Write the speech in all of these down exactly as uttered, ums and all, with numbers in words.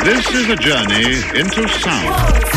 This is a journey into sound.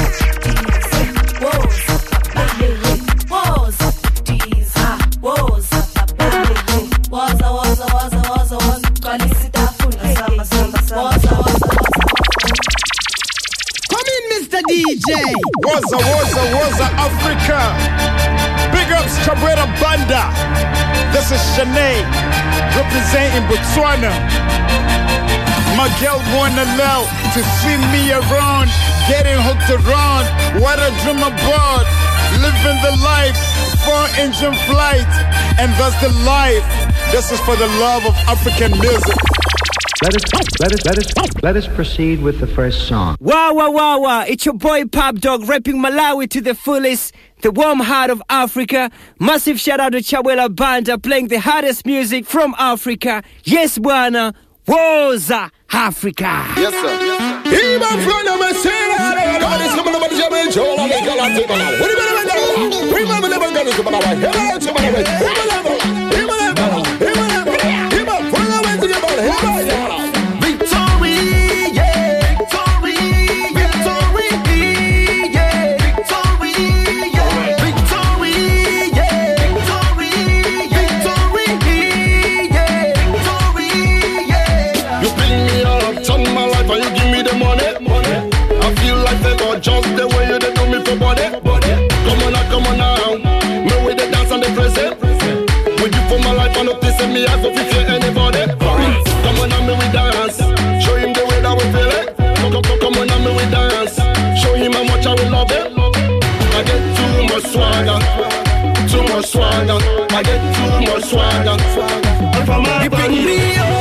Come in, Mister D J. Waza, Waza, Waza, Africa. Big ups, Cabrera Banda. This is Shanae, representing Botswana. My girl wanna love to see me around, getting hooked around. What a dream about, living the life, four engine flight, and that's the life. This is for the love of African music. Let us, let us, let us, let us proceed with the first song. Wow, wow, wow, wow. It's your boy Pop Dog rapping Malawi to the fullest. The warm heart of Africa. Massive shout out to Chawela Banda playing the hardest music from Africa. Yes, Bwana. Woza Africa. Yes, sir. Even from the Messina, God is coming over the German Joe. I'm going to go out to the What do you mean? We remember the gun is coming over. Here I am to my way. Here I am. Here I am. Here I am. Here I am. From the way to your body. Here I am. Victory, yeah. Victory, victory, yeah. Victory, yeah. Victory, yeah. Victory, victory, yeah. Victory, yeah. You bring me up, turn my life, and you give me the money. I feel like they got just the way you do me for body. Come on now, come on now. Me with the dance and the present. With you for my life, I know this and me, I don't feel anybody. Come on now, me we dance. Show him the way that we feel it. Come, come, come, come on now, me we dance. Show him how much I will love it. I get too much swagger. Too much swagger. I get too much swagger. You pick me up.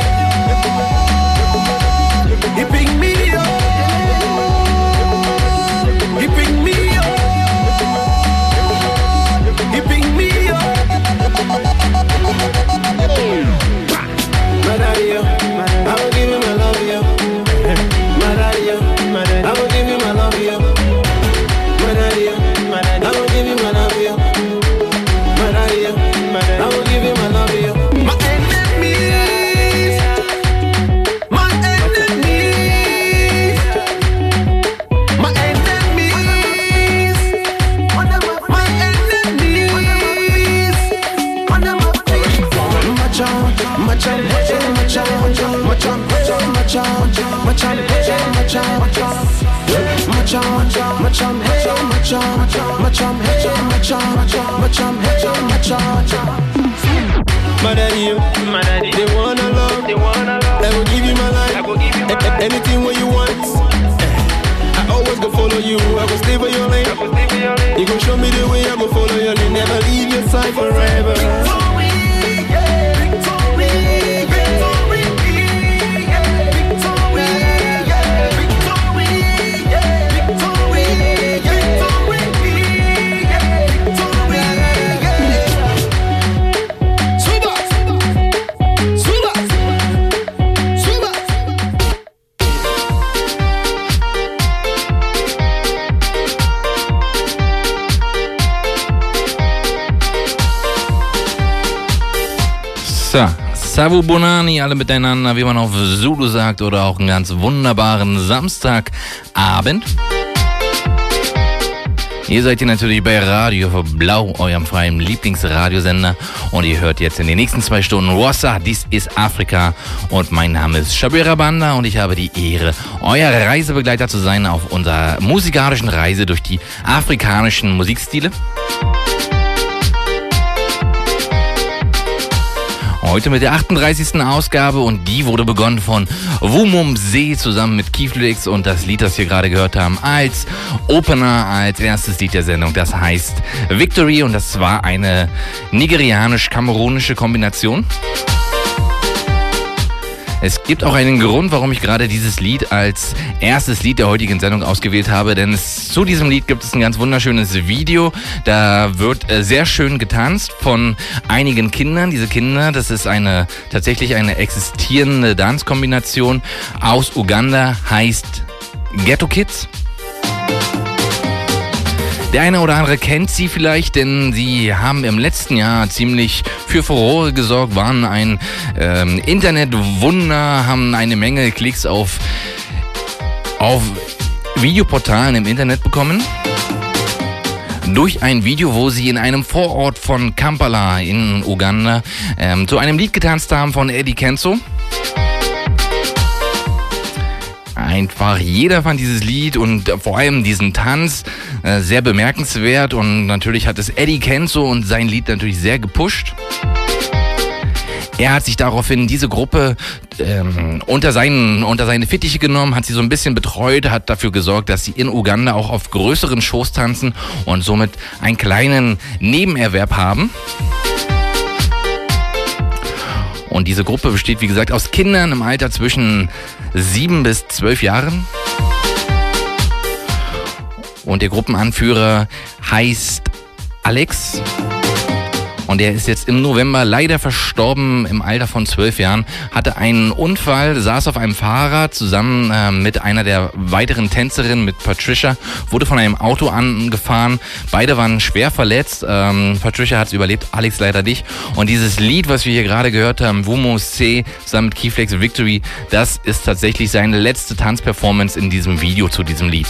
You pick me up. You pick me up. You pick me up. Madario, I will give you my love, yo. Madario, I will give you my love, yo. Madario, I will give you my love, yo. Madario, I will give you my love, yo. My enemies, my enemies, my enemies, my enemies, Macha, macha, macha, macha, macha, macha, macha, macha, macha, macha, macha, macha. Madari, Madari, they wanna love, they wanna love. I will give you my life, I will give you my life. Anything what you want. I always go follow you, I will stay for your lane. You gon' show me the way, I go follow your lane. Never leave your side forever. Savu Bonani, alle miteinander, wie man auf Zulu sagt, oder auch einen ganz wunderbaren Samstagabend. Ihr seid hier natürlich bei Radio Blau, eurem freien Lieblingsradiosender, und ihr hört jetzt in den nächsten zwei Stunden Woza, dies ist Afrika, und mein Name ist Shabira Banda und ich habe die Ehre, euer Reisebegleiter zu sein auf unserer musikalischen Reise durch die afrikanischen Musikstile. Heute mit der achtunddreißigsten Ausgabe, und die wurde begonnen von Wumumse zusammen mit Keyflix, und das Lied, das wir gerade gehört haben, als Opener, als erstes Lied der Sendung, das heißt Victory, und das war eine nigerianisch-kamerunische Kombination. Es gibt auch einen Grund, warum ich gerade dieses Lied als erstes Lied der heutigen Sendung ausgewählt habe, denn es, zu diesem Lied gibt es ein ganz wunderschönes Video. Da wird äh, sehr schön getanzt von einigen Kindern. Diese Kinder, das ist eine tatsächlich eine existierende Tanzkombination aus Uganda, heißt Ghetto Kids. Der eine oder andere kennt sie vielleicht, denn sie haben im letzten Jahr ziemlich für Furore gesorgt, waren ein ähm, Internetwunder, haben eine Menge Klicks auf auf Videoportalen im Internet bekommen. Durch ein Video, wo sie in einem Vorort von Kampala in Uganda ähm, zu einem Lied getanzt haben von Eddie Kenzo. Einfach jeder fand dieses Lied und vor allem diesen Tanz äh, sehr bemerkenswert und natürlich hat es Eddie Kenzo und sein Lied natürlich sehr gepusht. Er hat sich daraufhin diese Gruppe ähm, unter, seinen, unter seine Fittiche genommen, hat sie so ein bisschen betreut, hat dafür gesorgt, dass sie in Uganda auch auf größeren Shows tanzen und somit einen kleinen Nebenerwerb haben. Und diese Gruppe besteht, wie gesagt, aus Kindern im Alter zwischen sieben bis zwölf Jahren. Und der Gruppenanführer heißt Alex. Und er ist jetzt im November leider verstorben im Alter von zwölf Jahren. Hatte einen Unfall, saß auf einem Fahrrad zusammen äh, mit einer der weiteren Tänzerinnen, mit Patricia, wurde von einem Auto angefahren. Beide waren schwer verletzt. Ähm, Patricia hat es überlebt, Alex leider nicht. Und dieses Lied, was wir hier gerade gehört haben, Wumo C, zusammen mit Keyflex Victory, das ist tatsächlich seine letzte Tanzperformance in diesem Video zu diesem Lied.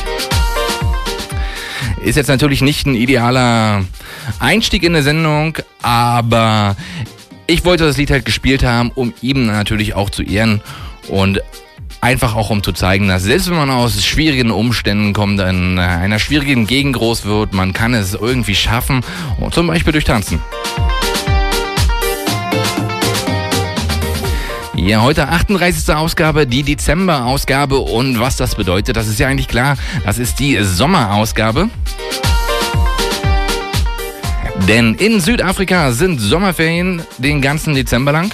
Ist jetzt natürlich nicht ein idealer Einstieg in der Sendung, aber ich wollte das Lied halt gespielt haben, um ihm natürlich auch zu ehren und einfach auch um zu zeigen, dass selbst wenn man aus schwierigen Umständen kommt, in einer schwierigen Gegend groß wird, man kann es irgendwie schaffen, zum Beispiel durch Tanzen. Ja, heute achtunddreißigste Ausgabe, die Dezember-Ausgabe und was das bedeutet, das ist ja eigentlich klar, das ist die Sommerausgabe. Denn in Südafrika sind Sommerferien den ganzen Dezember lang.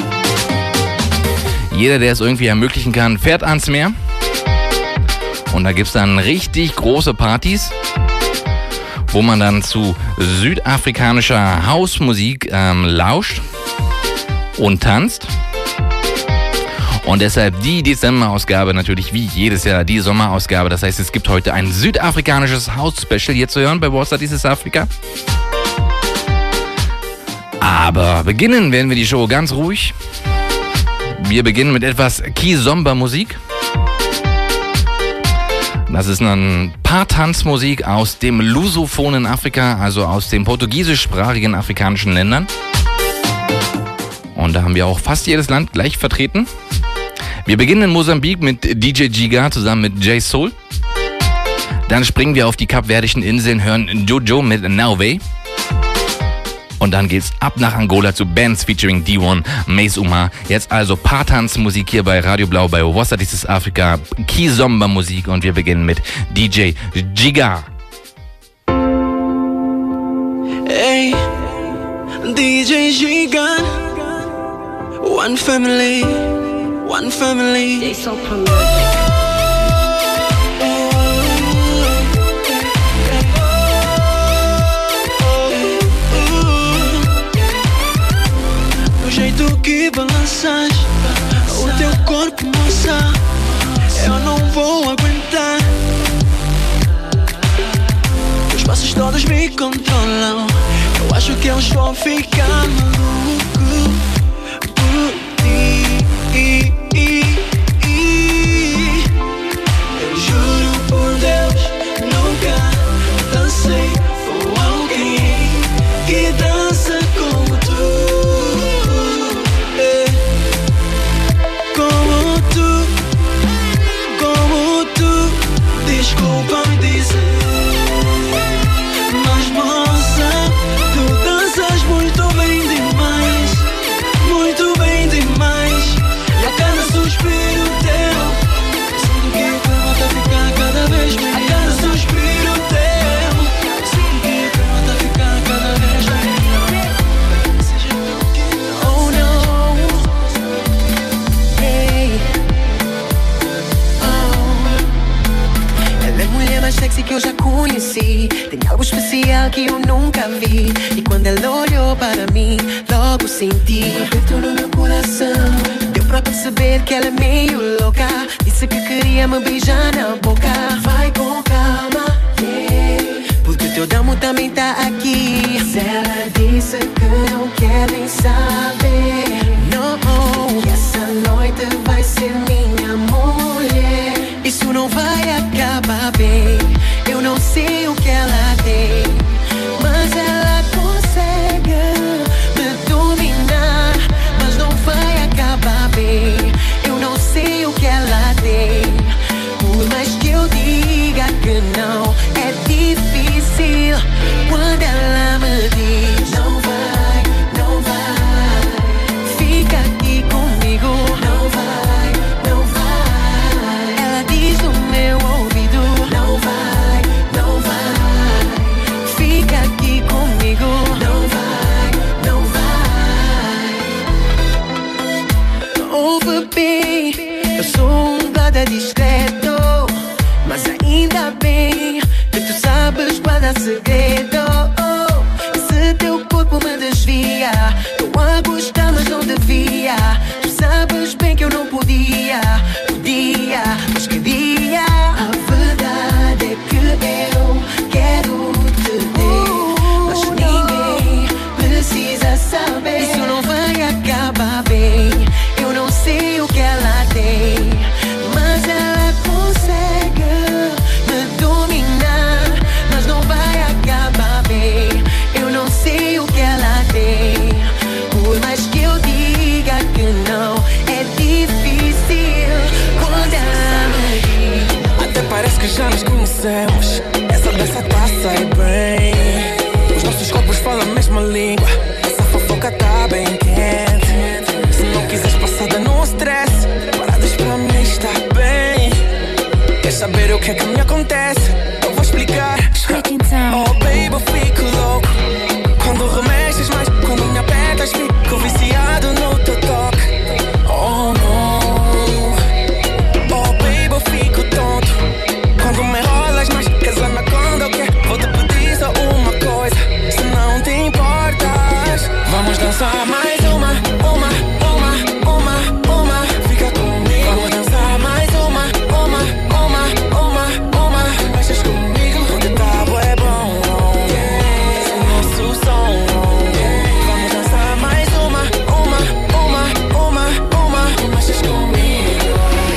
Jeder, der es irgendwie ermöglichen kann, fährt ans Meer. Und da gibt es dann richtig große Partys, wo man dann zu südafrikanischer Hausmusik ähm, lauscht und tanzt. Und deshalb die Dezember-Ausgabe natürlich wie jedes Jahr die Sommerausgabe. Das heißt, es gibt heute ein südafrikanisches House-Special hier zu hören bei What's That Is Africa. Aber beginnen werden wir die Show ganz ruhig. Wir beginnen mit etwas Kizomba-Musik. Das ist ein paar Tanzmusik aus dem lusophonen Afrika, also aus den portugiesischsprachigen afrikanischen Ländern. Und da haben wir auch fast jedes Land gleich vertreten. Wir beginnen in Mosambik mit D J Giga zusammen mit J Soul. Dann springen wir auf die kapverdischen Inseln, hören Jojo mit Nauve. Und dann geht's ab nach Angola zu Bands featuring D eins, Mace Uma. Jetzt also Paartanzmusik hier bei Radio Blau bei What's That Is Africa, Kizomba Musik und wir beginnen mit D J Giga. Hey, D J Giga, one family, one family. They so prolific. O jeito que balanças, o teu corpo, moça, eu não vou aguentar. Os passos todos me controlam, eu acho que eu vou ficar maluco por ti. Eu juro por Deus, nunca dancei com alguém que dança como tu. Como tu, como tu, desculpa me dizer, mas moça, tu danças muito bem demais, muito bem demais. E a cada suspiro teu, sinto que o clima tá a ficar cada vez melhor. A cada suspiro teu, sinto que o clima tá a ficar cada vez melhor. Seja tu que não, oh não. Mais sexy que eu já conheci. Tem algo especial que eu nunca vi. E quando ela olhou para mim, logo senti um aperto no meu coração. Deu pra perceber que ela é meio louca. Disse que queria me beijar na boca. Vai com calma, yeah, porque o teu damo também tá aqui. Se ela disse que não quer nem saber, não, que essa noite vai ser minha mulher. E Isso não vai acabar bem. Eu não sei o que ela tem, mas ela consegue me dominar. Mas não vai acabar bem. Eu não sei o que ela tem. Por mais que eu diga que não, é difícil quando ela me diz não vai, não vai. Fica aqui comigo. Não vai, não vai. Ela diz no meu ouvido não vai, não vai. Fica aqui comigo. Não vai, não vai. Ouve bem, eu sou um guarda discreto, mas ainda bem que tu sabes guardar segredo. Se teu corpo me desvia, tô a gostar mas não devia. Tu sabes bem que eu não podia, podia, mas queria. A verdade é que eu quero te ter, mas ninguém precisa saber. Isso não vai acabar bem. Eu não sei o que ela tem, mas ela consegue me dominar. Mas não vai acabar bem. Eu não sei o que ela tem. Por mais que eu diga que não, é difícil quando ela me diz. Até parece que já nos conhecemos. Essa dança tá a sair bem. Os nossos corpos falam a mesma língua. Essa fofoca tá bem quente. Se não quiseres passada no stress, paradas pra mim está bem. Quer saber o que é que me acontece? Eu vou explicar. Oh baby, eu fico louco quando remexes mais, quando me apertas, fico viciado no teu toque. Oh não. Oh baby, eu fico tonto quando me enrolas mais, queres anaconda ou quê? Vou te pedir só uma coisa, se não te importas. Vamos dançar mais uma, uma, uma, uma, uma. Fica comigo. Vamos dançar mais uma, uma, uma, uma, uma. Mexes comigo, o ditado é bom. Esse é o nosso som. Vamos dançar mais uma, uma, uma, uma, uma. Mexes comigo.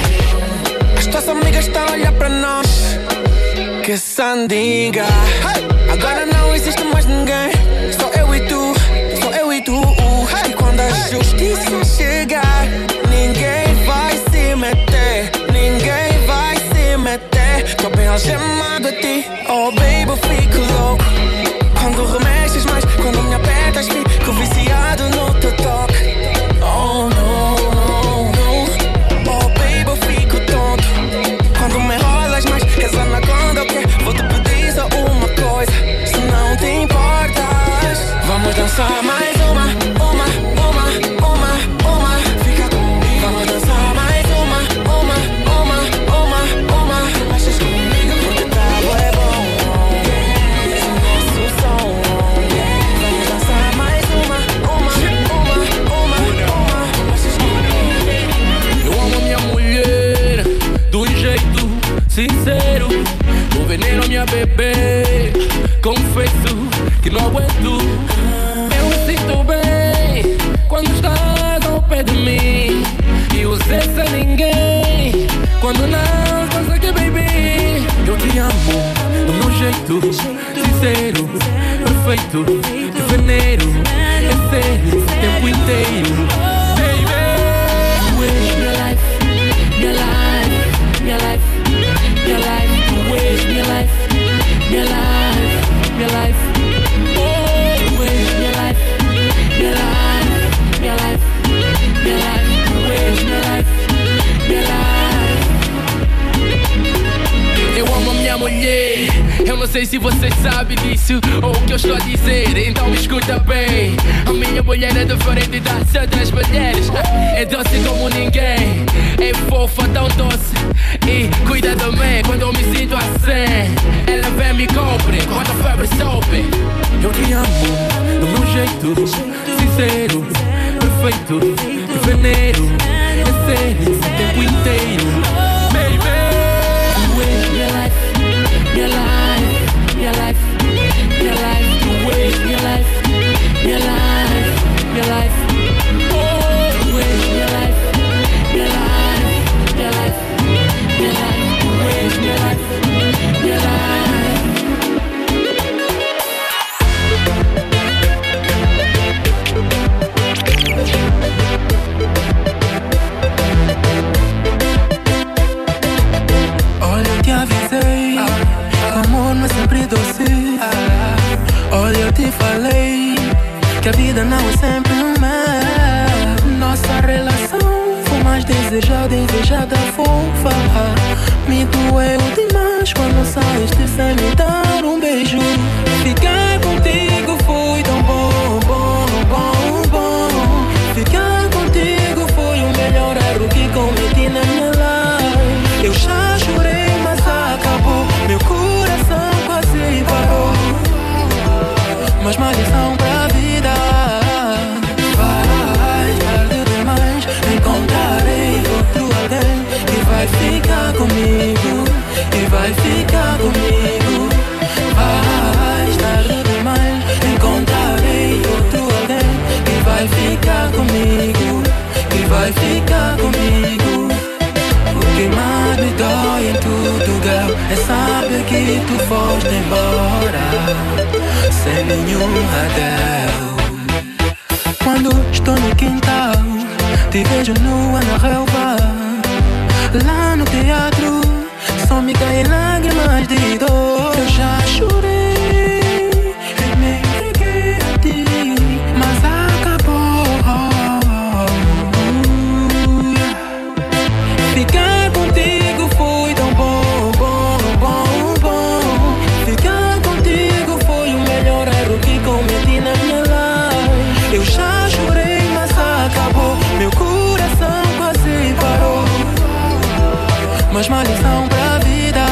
As tuas amigas estão a olhar pra nós. Que sandiga. Agora não existe mais ninguém. Só eu e tu, só eu e tu. E quando a justiça chegar, ninguém vai se meter, ninguém vai se meter. Tô bem algemado a ti. Oh baby, eu fico louco quando remexes mais, quando me apertas, fico viciado no teu toque. Oh não, não, não. Oh baby, eu fico tonto quando me enrolas mais, queres anaconda ou quê? Vou te pedir só uma coisa, se não te importas. Vamos dançar mais uma, uma, uma, uma, uma. Fica comigo. Vamos dançar mais uma, uma, uma, uma, uma. Mexes comigo, porque tá é bom. Esse é o nosso som. Vamos dançar mais uma, uma, uma, uma, uma. Mexes comigo. Eu amo minha mulher de um jeito sincero. O veneno minha bebê, confesso que não aguento. Eu me sinto bem quando estás ao pé de mim. E você sem ninguém quando não estás aqui, baby. Eu te amo do meu jeito sincero, perfeito, de veneno. É sério, o tempo inteiro, baby. You is my life, my life, my life, my life. You is my life, my life, my life. Oh, you is my life, my life, my life, my life. You is my life, my life. Eu amo minha mulher. Eu não sei se você sabe disso ou o que eu estou a dizer, então me escuta bem. A minha mulher é diferente das outras mulheres. É doce como ninguém, é fofa, tão doce e cuida de mim quando eu me sinto assim. Ela vem me compre quando a febre sobe. Eu te amo do meu jeito sincero, perfeito, de veneno. É sério, o tempo inteiro, baby. You is my life, my life, my life, my life. You is my life, my life, my life. Oh, you is my life, my life, my life, my life. desejada, invejada, fofa. Me doeu demais quando saíste sem me dar um beijo. Ficar contigo foi tão bom, bom, bom, bom. Ficar contigo foi o melhor erro que cometi na minha life. Eu já chorei, mas acabou. Meu coração quase parou. Mas mais lição pra vida. Vai tarde demais, encontrarei outro alguém que vai ficar comigo, que vai ficar comigo. Vai tarde demais, encontrarei outro alguém que vai ficar comigo, que vai ficar comigo. O que mais me dói em tudo, girl, é saber que tu foste embora sem nenhum adeus. Quando estou no quintal, te vejo nua na relva. Lá no teatro, só me caem lágrimas de dor. Eu já chorei e me entreguei a ti, mas acabou. Ficar contigo foi tão bom, bom, bom, bom. Ficar contigo foi o melhor erro que cometi na minha life. Eu já chorei, mas acabou. Meu coração quase parou. Mas uma lição pra vida.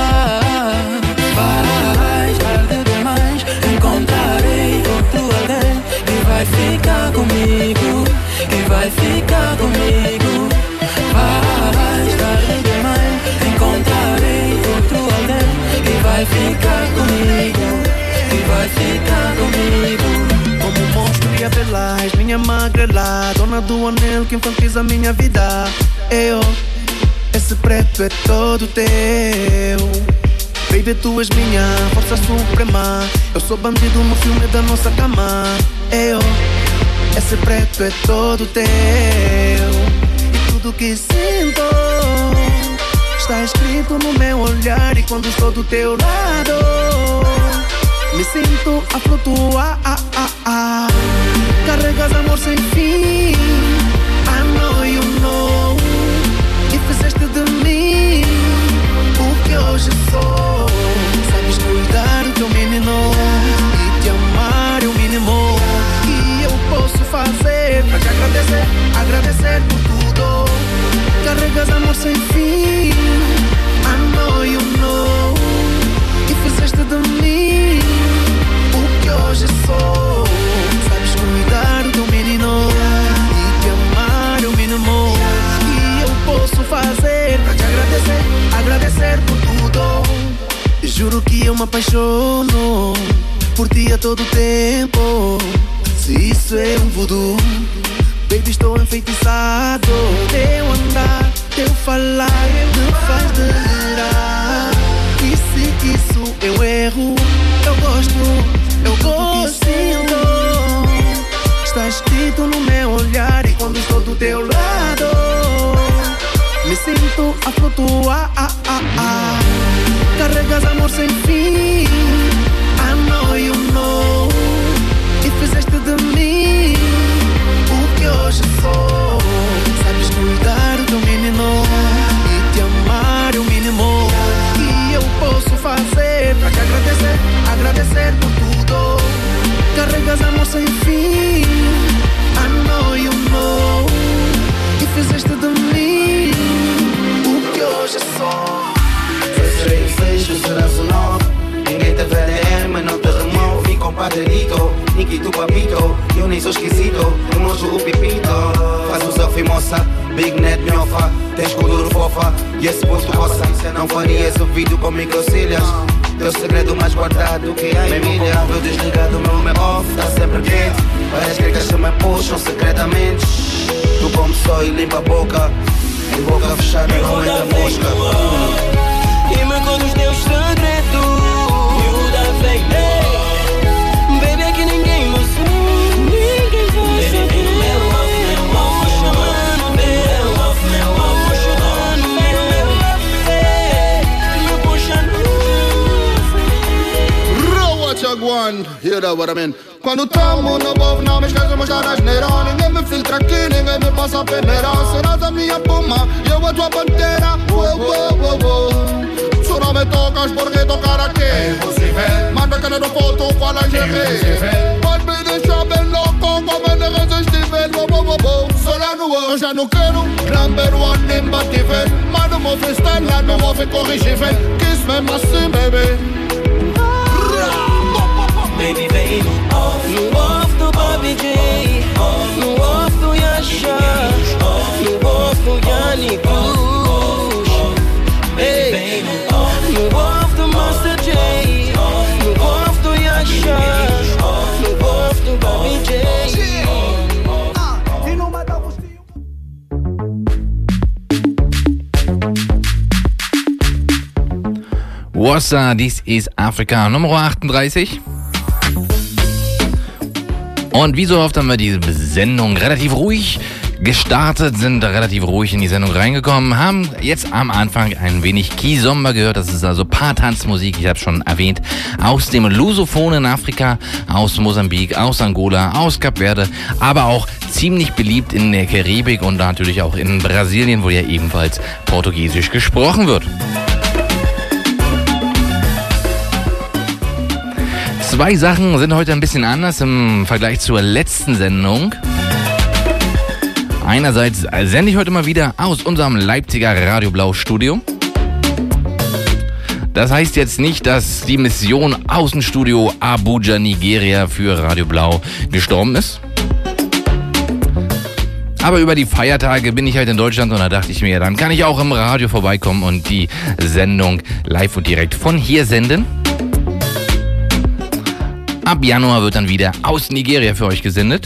Vai tarde demais, encontrarei outro alguém que vai ficar comigo, que vai ficar comigo. Vai tarde demais, encontrarei outro alguém que vai ficar comigo, que vai ficar comigo. Como um monstro e a velaz, minha magrela, dona do anel que infantiliza minha vida. Eu, esse preto é todo teu. Baby, tu és minha força suprema. Eu sou bandido no filme da nossa cama. Eu, esse preto é todo teu. E tudo que sinto está escrito no meu olhar. E quando estou do teu lado, me sinto a flutuar. ah, ah, ah. Carregas amor sem fim. I know you know. E fizeste de mim o que hoje sou. Sabes cuidar do teu menino e te amar é o mínimo que eu posso fazer pra te agradecer, agradecer por tudo. Carregas amor sem fim. I know you know. E fizeste de mim o que hoje sou. Sabes cuidar do teu menino e te amar é o mínimo que eu posso fazer pra te agradecer, agradecer por tudo. Juro que eu me apaixono por ti a todo tempo. Se isso é um voodoo, baby, estou enfeitiçado. Teu andar, teu falar me faz delirar. E se isso eu erro, eu gosto, eu gosto. Está escrito no meu olhar. E quando estou do teu lado, me sinto a flutuar. ah, ah, ah. Carregas amor sem fim. I know you know. E fizeste de mim o que hoje sou. Sabes cuidar do teu menino e te amar é o mínimo que eu posso fazer pra te agradecer, agradecer por tudo. Carregas amor sem fim. I know you know. E fizeste de mim o que hoje sou. Seis, seis, tu serás o nove. Ninguém te vê, mas não te remove. Mi compadrito, Niki tu papito. Eu nem sou esquisito, eu mostro o pipito. Faz o selfie moça, Big Net miofa. Tens cultura fofa e esse posto roça. Não farias o vídeo com microcílias. Teu segredo mais guardado que há em milha. Meu desligado, meu meu off, tá sempre quente. Várias gregas se me puxam secretamente. Tu como só e limpa a boca. Em boca fechada não entra mosca. E me conta os teus segredos. Miúda vem, hey. Baby, é que ninguém me sabe. Ninguém vai saber. Meu love, meu love, meu love, meu love, meu love, meu love, me puxa no. Raw, what you want? mean, you know what I mean. Quando tamo no povo, não me esqueço, mas tá asneira. Ninguém me filtra aqui, ninguém me passa peneira. Será da minha puma, eu a tua pantera. Uou, uou, uou, uou. Tu não me tocas porque tocar aqui é impossível. Manda que não foto qual a gente. Pode me deixar bem louco, como é irresistível. Uou, uou, uou, uou. Sola no eu já não quero. Number one imbatível. Manda o meu freestyle lá, não vou ficar corrigível. Kiss me assim, baby. Baby, vem no off, no off do Bobby J, no off do Yasha, no off do Yanni Bush. Baby, vem no off, no off do Master J, no off do Yasha, no off do Bobby J. Wassa, dies ist Afrika Nummer achtunddreißig. Und wie so oft haben wir diese Sendung relativ ruhig gestartet, sind relativ ruhig in die Sendung reingekommen, haben jetzt am Anfang ein wenig Kizomba gehört, das ist also Paartanzmusik, ich habe schon erwähnt, aus dem lusophonen Afrika, aus Mosambik, aus Angola, aus Kap Verde, aber auch ziemlich beliebt in der Karibik und natürlich auch in Brasilien, wo ja ebenfalls Portugiesisch gesprochen wird. Zwei Sachen sind heute ein bisschen anders im Vergleich zur letzten Sendung. Einerseits sende ich heute mal wieder aus unserem Leipziger Radio Blau Studio. Das heißt jetzt nicht, dass die Mission Außenstudio Abuja, Nigeria für Radio Blau gestorben ist. Aber über die Feiertage bin ich halt in Deutschland und da dachte ich mir, dann kann ich auch im Radio vorbeikommen und die Sendung live und direkt von hier senden. Ab Januar wird dann wieder aus Nigeria für euch gesendet.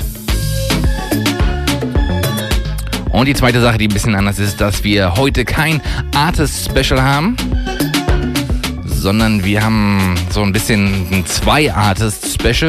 Und die zweite Sache, die ein bisschen anders ist, dass wir heute kein Artist-Special haben, sondern wir haben so ein bisschen ein Zwei-Artist-Special.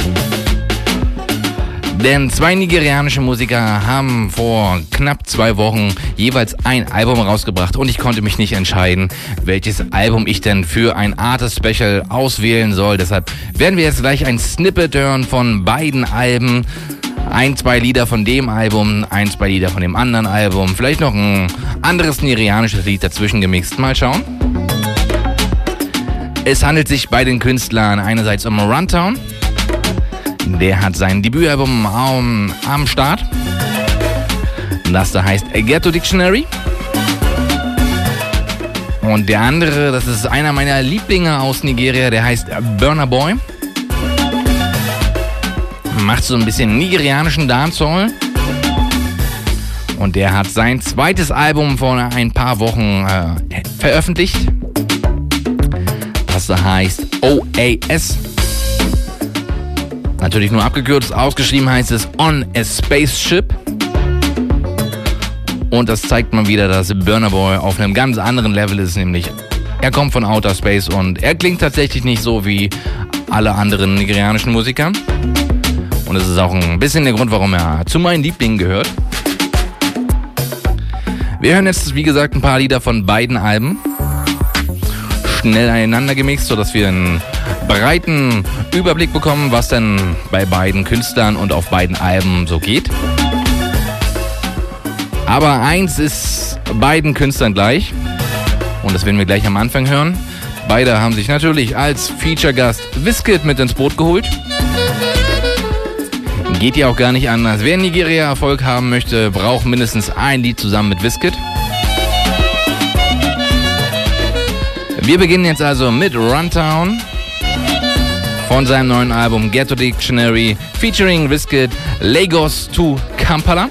Denn zwei nigerianische Musiker haben vor knapp zwei Wochen jeweils ein Album rausgebracht und ich konnte mich nicht entscheiden, welches Album ich denn für ein Artist-Special auswählen soll. Deshalb werden wir jetzt gleich ein Snippet hören von beiden Alben. Ein, zwei Lieder von dem Album, ein, zwei Lieder von dem anderen Album. Vielleicht noch ein anderes nigerianisches Lied dazwischen gemixt. Mal schauen. Es handelt sich bei den Künstlern einerseits um Runtown. Der hat sein Debütalbum am, am Start. Das da heißt Ghetto Dictionary. Und der andere, das ist einer meiner Lieblinge aus Nigeria, der heißt Burna Boy. Macht so ein bisschen nigerianischen Dancehall. Und der hat sein zweites Album vor ein paar Wochen äh, veröffentlicht. Das da heißt O A S. Natürlich nur abgekürzt, ausgeschrieben heißt es On a Spaceship. Und das zeigt mal wieder, dass Burna Boy auf einem ganz anderen Level ist, nämlich er kommt von Outer Space und er klingt tatsächlich nicht so wie alle anderen nigerianischen Musiker. Und das ist auch ein bisschen der Grund, warum er zu meinen Lieblingen gehört. Wir hören jetzt, wie gesagt, ein paar Lieder von beiden Alben. Schnell aneinander gemixt, sodass wir einen breiten Überblick bekommen, was denn bei beiden Künstlern und auf beiden Alben so geht. Aber eins ist beiden Künstlern gleich und das werden wir gleich am Anfang hören. Beide haben sich natürlich als Feature-Gast Wizkid mit ins Boot geholt. Geht ja auch gar nicht anders. Wer in Nigeria Erfolg haben möchte, braucht mindestens ein Lied zusammen mit Wizkid. Wir beginnen jetzt also mit Runtown von seinem neuen Album Ghetto Dictionary featuring Wizkid, Lagos to Kampala.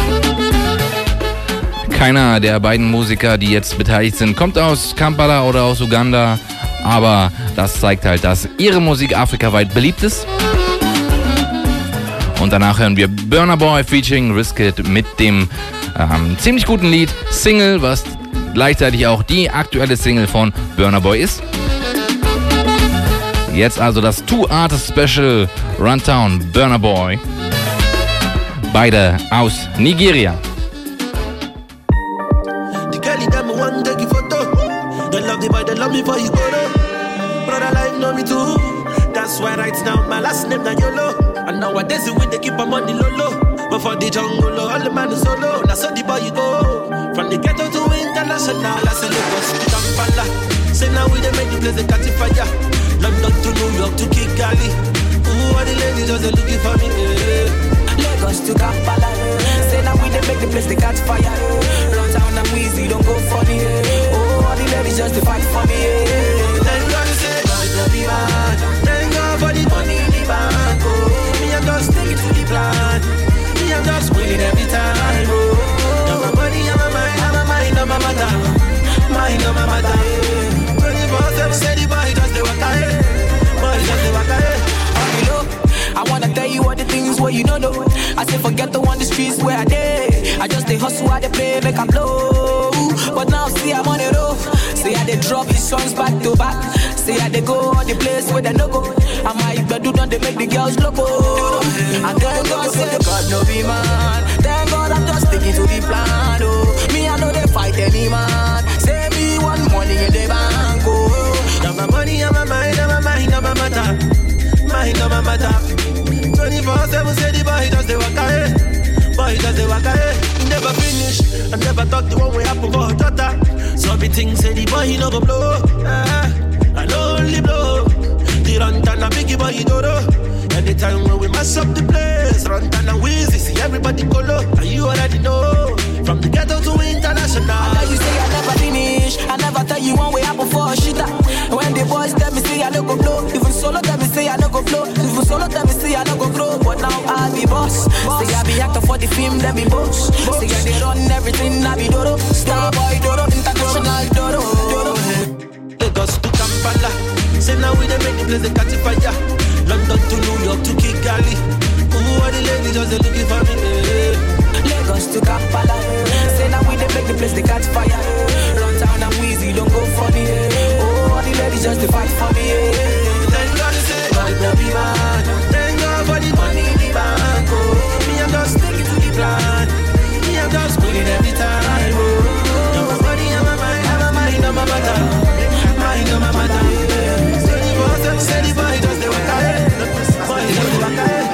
Keiner der beiden Musiker, die jetzt beteiligt sind, kommt aus Kampala oder aus Uganda, aber das zeigt halt, dass ihre Musik afrikaweit beliebt ist. Und danach hören wir Burna Boy featuring Wizkid mit dem ähm, ziemlich guten Lied Single, was gleichzeitig auch die aktuelle Single von Burna Boy ist. Jetzt also das Two-Artist-Special Runtown Burna Boy. Beide aus Nigeria. The girl that me want take a photo. They love the boy, they love me for his photo. Brother life know me too. That's why right now my last name na YOLO. And nowadays we they keep our money low low. But for the jungle, all the man is solo. That's how the boy you go. From the ghetto to international, I say Lagos to Kampala. Say now we they make the place they catch fire. London to New York to Kigali. Ooh, all the ladies just looking for me. Yeah. Lagos to Kampala. Say now we they make the place they catch fire. Run down and Weezy, don't go funny. Oh, all the ladies just fight for me. Thank God say my baby man. Thank God for the money in the bank. Oh, me I'm just sticking to the plan. Me I'm just winning every time. Oh, now my money, I'm my mind, I'm my mind, I'm my matter. Mind, I'm my matter. twenty-four seven say the boy just the waka. Boy just the waka. I wanna tell you all the things where you don't know. I say forget the one the streets where I did. I just they hustle, I they play, make I blow. But now see I'm on the road. Say I they drop his songs back to back. Say I they go on the place where they no go. I might do done they make the girls loco. And thank God say God no be man. Thank God I'm just sticking to the plan. Oh, me I know they fight any man. Say me one money in the bank. Oh, now my money, I'm my mind, I'm my mind, I'm my matter. Mind on my matter. twenty-four seven say the boy does the waka eh. Boy does the waka eh. He never finish. I never thought the one way happen for her daughter. So me think say the boy he no go blow. Ah, I no only blow. The run down a biggie boy he do do. Anytime when we mess up the place, run down and Weezy, see everybody go low. And you already know. From the ghetto to international. I tell you say I never finish. I never tell you one way happen for a shitter. When the boys tell me say I no go blow. Even solo tell me say I no go blow. Even solo tell me say I no go grow. But now I be boss. Say I be actor for the film, then be boss. Say I they run everything, I be Dodo. Star boy Dodo, international Dodo. Lagos to Kampala. Say now we they make the place they catch fire. London to New York to Kigali. Ooh, all the ladies just they looking for me. Lagos to Kampala. Say now we they make the place they catch fire. Run down and Weezy, don't go funny. Oh, all the ladies just they fight for me. Thank God say my baby man. Thank God for the money in the bank. Oh, me I'm just sticking to the plan. Me I'm just winning every time. Oh, now my money, I'm my mind, I'm my mind, I'm my matter. Mind, I'm my matter. Say the boy, say the boy just the waka. Boy just the waka.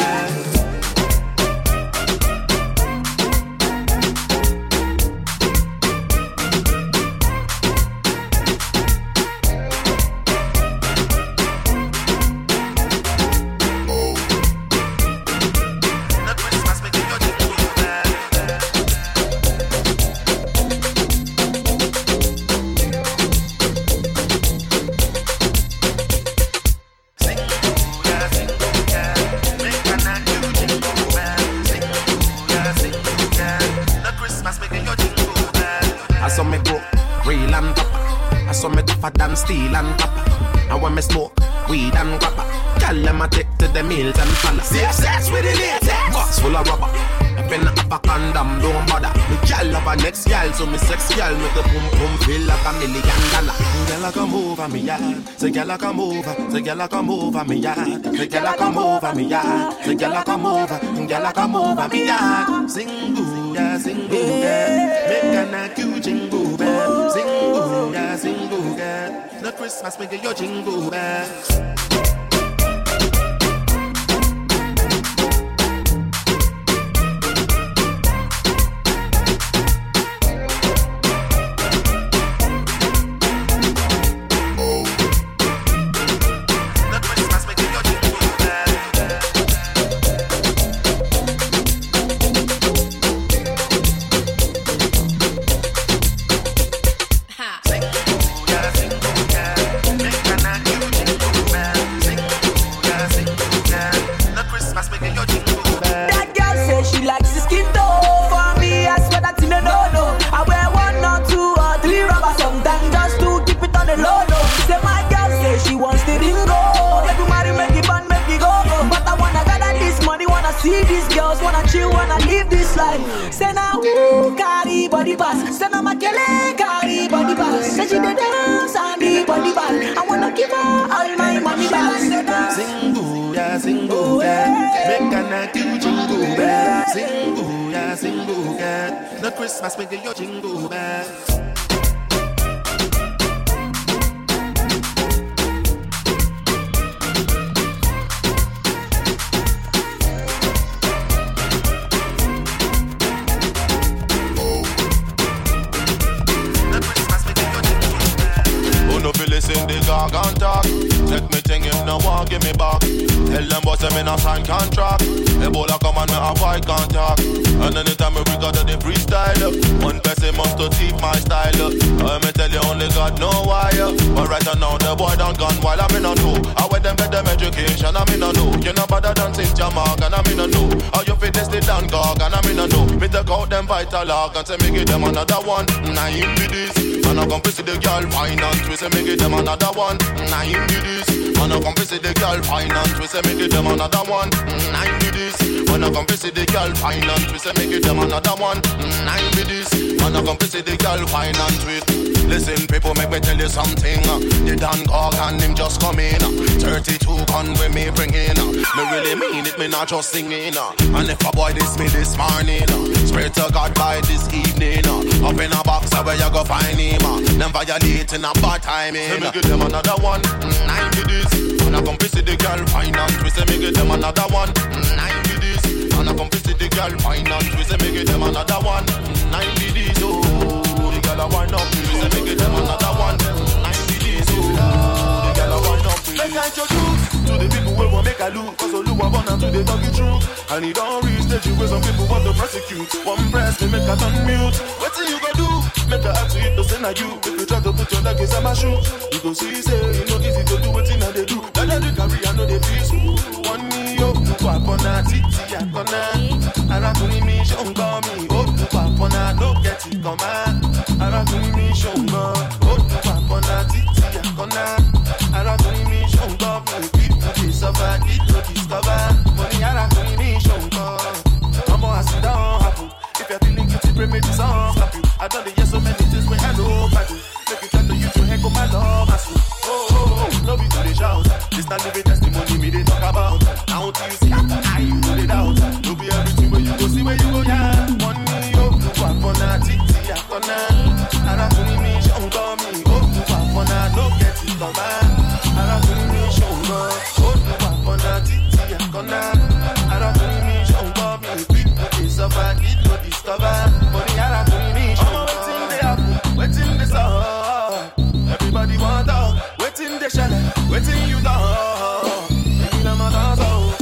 Steel and copper. And when me smoke weed and copper, tell them I take to the meals and follow. Safe sex with the latex, box full of rubber. I been up a condom, don't bother. Me gal up a next gal, so me sex gal make the boom boom feel like a million dollar. Gal I come over me yard, say gal I come over, say gal I come over me yard, say gal I come over me yard, say gal I come over, gal I come over me yard. Sing boo ya, sing boo ya, make a na cute jingle bell. Sing boo ya, sing boo ya. No Christmas, make your jingle bells. See these girls wanna chill, wanna live this life. Say now, ooh, carry body pass. Say now, my kele, carry body pass. Say she the dance and the body ball. I wanna give her all my money back. Sing boo ya, sing boo ya, make a na do jingle bell. Sing boo ya, sing boo ya, no Christmas make your jingle bell. Listen the gargan talk. Take me thing if no one give me back. Tell them boys I'm in a sign contract. Ebola come and me avoid contact. And anytime we got to the freestyle, one person must to keep my style. I me tell you only God know why. But right now the boy done gone while I'm in a know. I wear them get them education, I'm in a know. You know better than Saint Mark and I'm in a know. How you fit this the Dan Gog and I'm in a know. Me take out them vital log and say me give them another one. Nine be this. And I come see the girl finance. We say me give them another one. Nine be this. And I come see the girl finance. We say me give them another one. Nine be this. When I come see the girl finance. We say me give them another one. Nine be this. And I come see the girl finance with. Listen, people, make me tell you something. The Dan Gog and him just come in. thirty-two gun with me bring in. Me really mean it, me not just singing. And if a boy diss me this morning, swear to God by this evening. Up in a box where you go find him. Them violating a bad timing. Say me give them another one. Nine to this. And I come visit the girl finance. We say me give them another one. Nine to this. And I come visit the girl finance. We say me give them another one. Nine to this. Oh. I wind up, we say make it them another one. ninety days, oh, the girl I wind up. Make I introduce to the people who want make I lose. Cause all who are born and to the talk it true. And it don't reach stage where some people want to prosecute. One press, they make a turn mute. What you gonna do? Make a act to it, to send a you. If you try to put your leg inside my shoe, you go see, say, you know easy to do what in they do. Then they carry, I know they feel so. One knee up, to pop on a titty, I gonna. And I couldn't me, she don't call me. Oh, to pop on a, no get it, come on. Arakuni mi shongo, otu papona titi yakona. Arakuni mi shongo, people discover, it to discover. Money arakuni mi shongo. Come on, sit down, happen. If you're feeling guilty, pray me to some slap you. I done the yes so many things when I know I do. Make it tell to you to heck up my love, my soul. Oh, oh, oh, no be to the shout. This not living testimony me they talk about. Now till you see, I you know the doubt. No be everything where you go see where you go, yeah. Money, oh, to papona titi yakona. Arakuni mi shongo mi, oh tu papona, no get it come back. Arakuni mi shongo, oh tu papona, titi yakona. Arakuni mi shongo mi, people discover, it no discover. Money arakuni mi shongo. Waiting they happen, waiting they saw. Everybody want out, waiting they shell, waiting you know. Making a man dance out,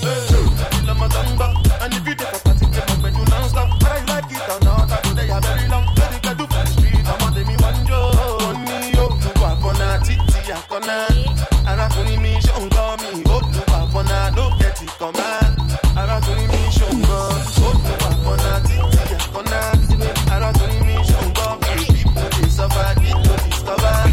making a man dance out. And if you take a party, take up when you non stop. Whether you like it or not, I know they are very long. Let it get to the street. Me one yo, money yo, tu papona titi yakona. Arakuni mi shongo mi, oh tu papona, no get it come on. Arakuni mi shongo, oh tu papona titi yakona. Arakuni mi shongo mi, people discover, it to discover.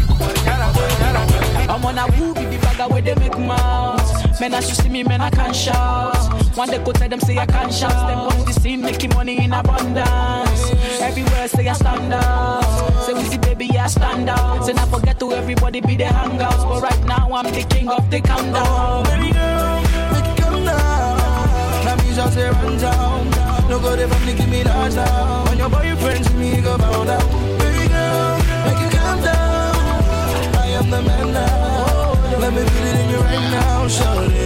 I'm on a woo, baby bagger where they make mouths. Men as you see me, men I can't shout. One day go tell them say I can't shout. Step on the scene, making money in abundance. Everywhere say I stand out. Say we see baby, I stand out. Say not forget to everybody be the hangouts. But right now I'm the king of the countdown. Baby girl, make it come down. Now me just say run down. No go there from me, give me that down. When your boyfriend see me, go bow down. Baby girl, make it come down. I am the man now. Let me feel it in you right now, shawty.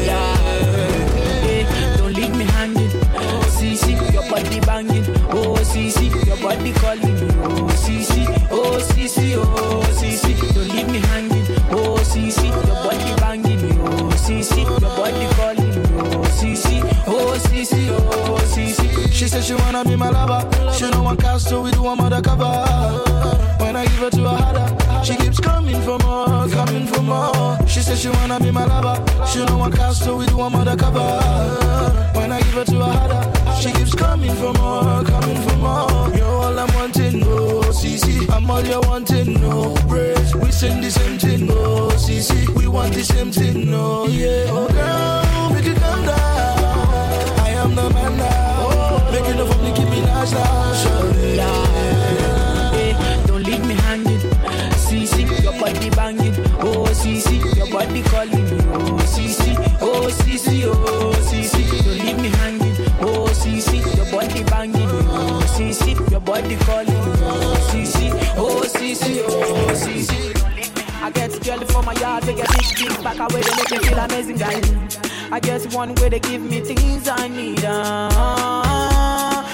Yeah. Don't leave me hanging. See, see, your body banging. Oh, see, see, your body calling me. Oh, see, see, oh, see, see, oh, see, see. Don't leave me hanging. Oh, see, see, your body banging me. Oh, see, see, your body calling me. Oh, see, see, oh, see, see, oh, see, see. She said she wanna be my lover. She don't want cast, so we do one undercover. When I give her to her harder, she keeps coming for more, coming for more. She said she wanna be my lover. She don't want cast, so we do one undercover. When I give her to her harder, she keeps coming for more, coming for more. You're all I'm wanting, no C C. I'm all you're wanting, no praise. We sing the same thing, no C C. We want the same thing, no yeah. Oh girl, make it calm down. I am the man now. Make it no for me, keep me nice now. Surely, yeah. Hey, don't leave me hanging. C C, your body banging. Oh C C, your body calling me. Oh C C, oh C C, oh C C. Don't leave me hanging. Oh C C, your body banging. Oh C C, your body calling. Oh C C, oh C C, oh C C. I get jelly for my yard, they get big things back away, they make me feel amazing, guys. I guess one way they give me things I need. Uh,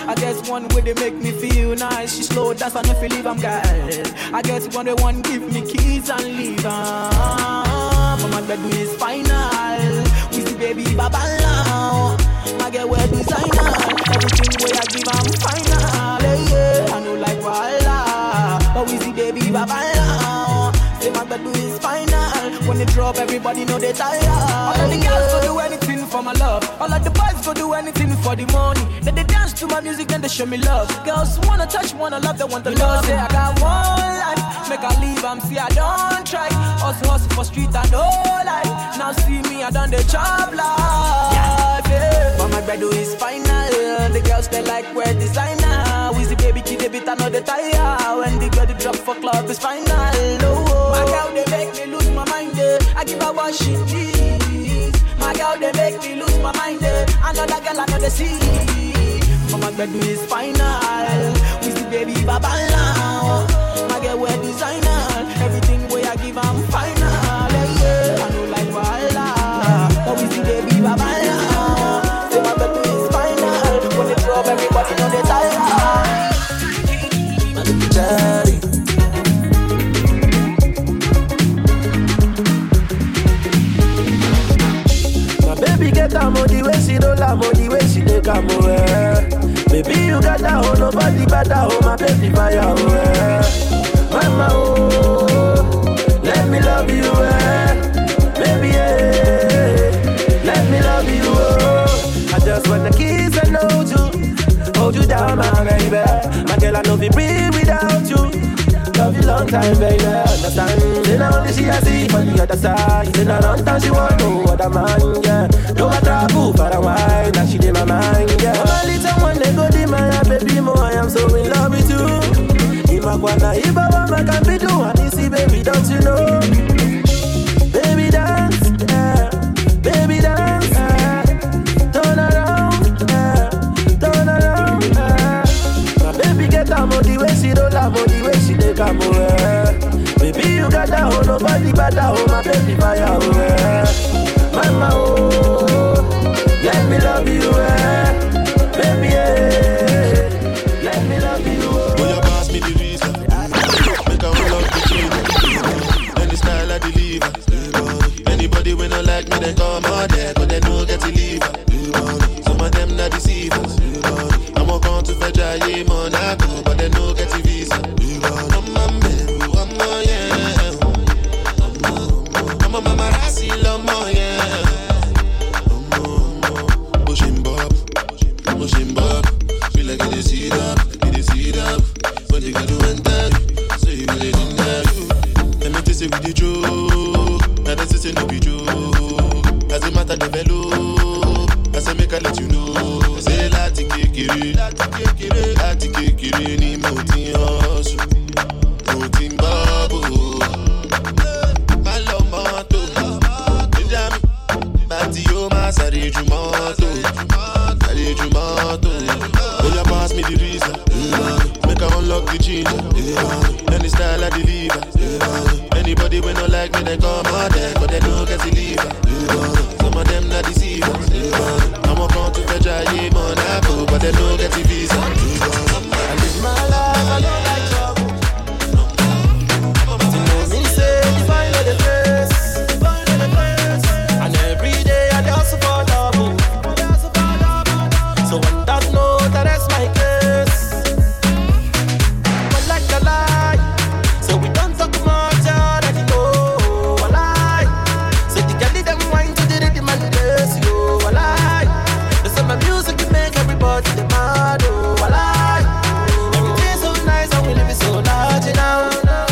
I get one way they make me feel nice. She slow dance and if you leave I'm girl. I get one they want give me keys and leave. Uh, but my bed is final. We see baby baba now. I get wear designer. Everything way I give I'm final. Yeah, yeah. I know like Walla. But we see baby baba now. Say my bed is final. When they drop everybody know they tired. All of the girls go do anything for my love. All of the boys go do anything for the money. Then they dance to my music and they show me love. Girls wanna touch, wanna love, they want the you love. Say I got one life, make I leave, I'm see I don't try. Hustle, hustle for street and no life. Now see me, I done the job life. Yeah. But my bread is final. The girls they like wear designer. Wheezy baby kid, they beat another tire. When the girl they drop for club is final. Oh, my girl they make me lose my mind. Eh. I give her what she needs. My girl they make me lose my mind. Eh. Another girl another see. But my bread is final. Wheezy baby baba now. My girl wear designer. Everything way I give I'm final. Yeah. I know like Walla. But Wheezy baby baba now. Say my bread is final. When they drop everybody know they tired. Daddy. My baby get that money when she don't like money when she take a away. Baby you got that hoe, nobody better hoe, my baby fire away. Mama oh, let me love you eh. Baby yeah, let me love you oh. I just wanna kiss and hold you, hold you down my baby. My girl I know we breathe without you. Love you long time, baby, understand. Then only she a see on the other side. Then a long time she want no other man, yeah. No matter who for a while, now she in my mind, yeah. I'm a little one, they go to my baby, more I am so in love with you. In my corner, if I want, I can be doing this, baby, don't you know? Baby dance, yeah. Baby dance, yeah. Turn around, yeah. Turn around, yeah. My baby get a money when she don't have money when she take a away. Baby you got that hoe, nobody better hoe, my baby fire away. Mama oh, let me love you eh. Baby yeah, let me love you oh. Boy you pass me the reason, make I unlock the chain. Any style I deliver. Anybody when not like me they come out there, but they no get to leave. Some of them not deceivers. I'm a come to fetch a yeah Monaco, but they no get to visa. I'm a man, I'm a yeah. I'm a mama rasi lomo yeah. Pushing bob, pushing bob. Feel like it is heat up, it is heat up. When they got to enter, so you really didn't have you. Let me tell you with the truth. Now this is no be true. As a matter develop, I say make I let you know. Say lati kekere, lati kekere, lati kekere ni mo ti hustle, mo ti bubble. My love moto, Benjamin, bati yo ma sare ju moto, sare ju moto. Oh ya pass me the reason, make I unlock the ginger. Any style I deliver. Anybody when not like me they come out there, but they don't get to leave. Some of them not deceivers. I'm a come to fetch a yeah Monaco, but they don't get the visa. I live my life, I don't like trouble. But you know me say, you find out the place, and every day I dance for double. So on that note, that's my case. But like a lie, so we don't talk much already know. I lie, so the girl them wine to the rhythm and the bass, yo. I lie, there's some music to make everybody the mad, oh. I lie, everything's so nice and we live it so large now.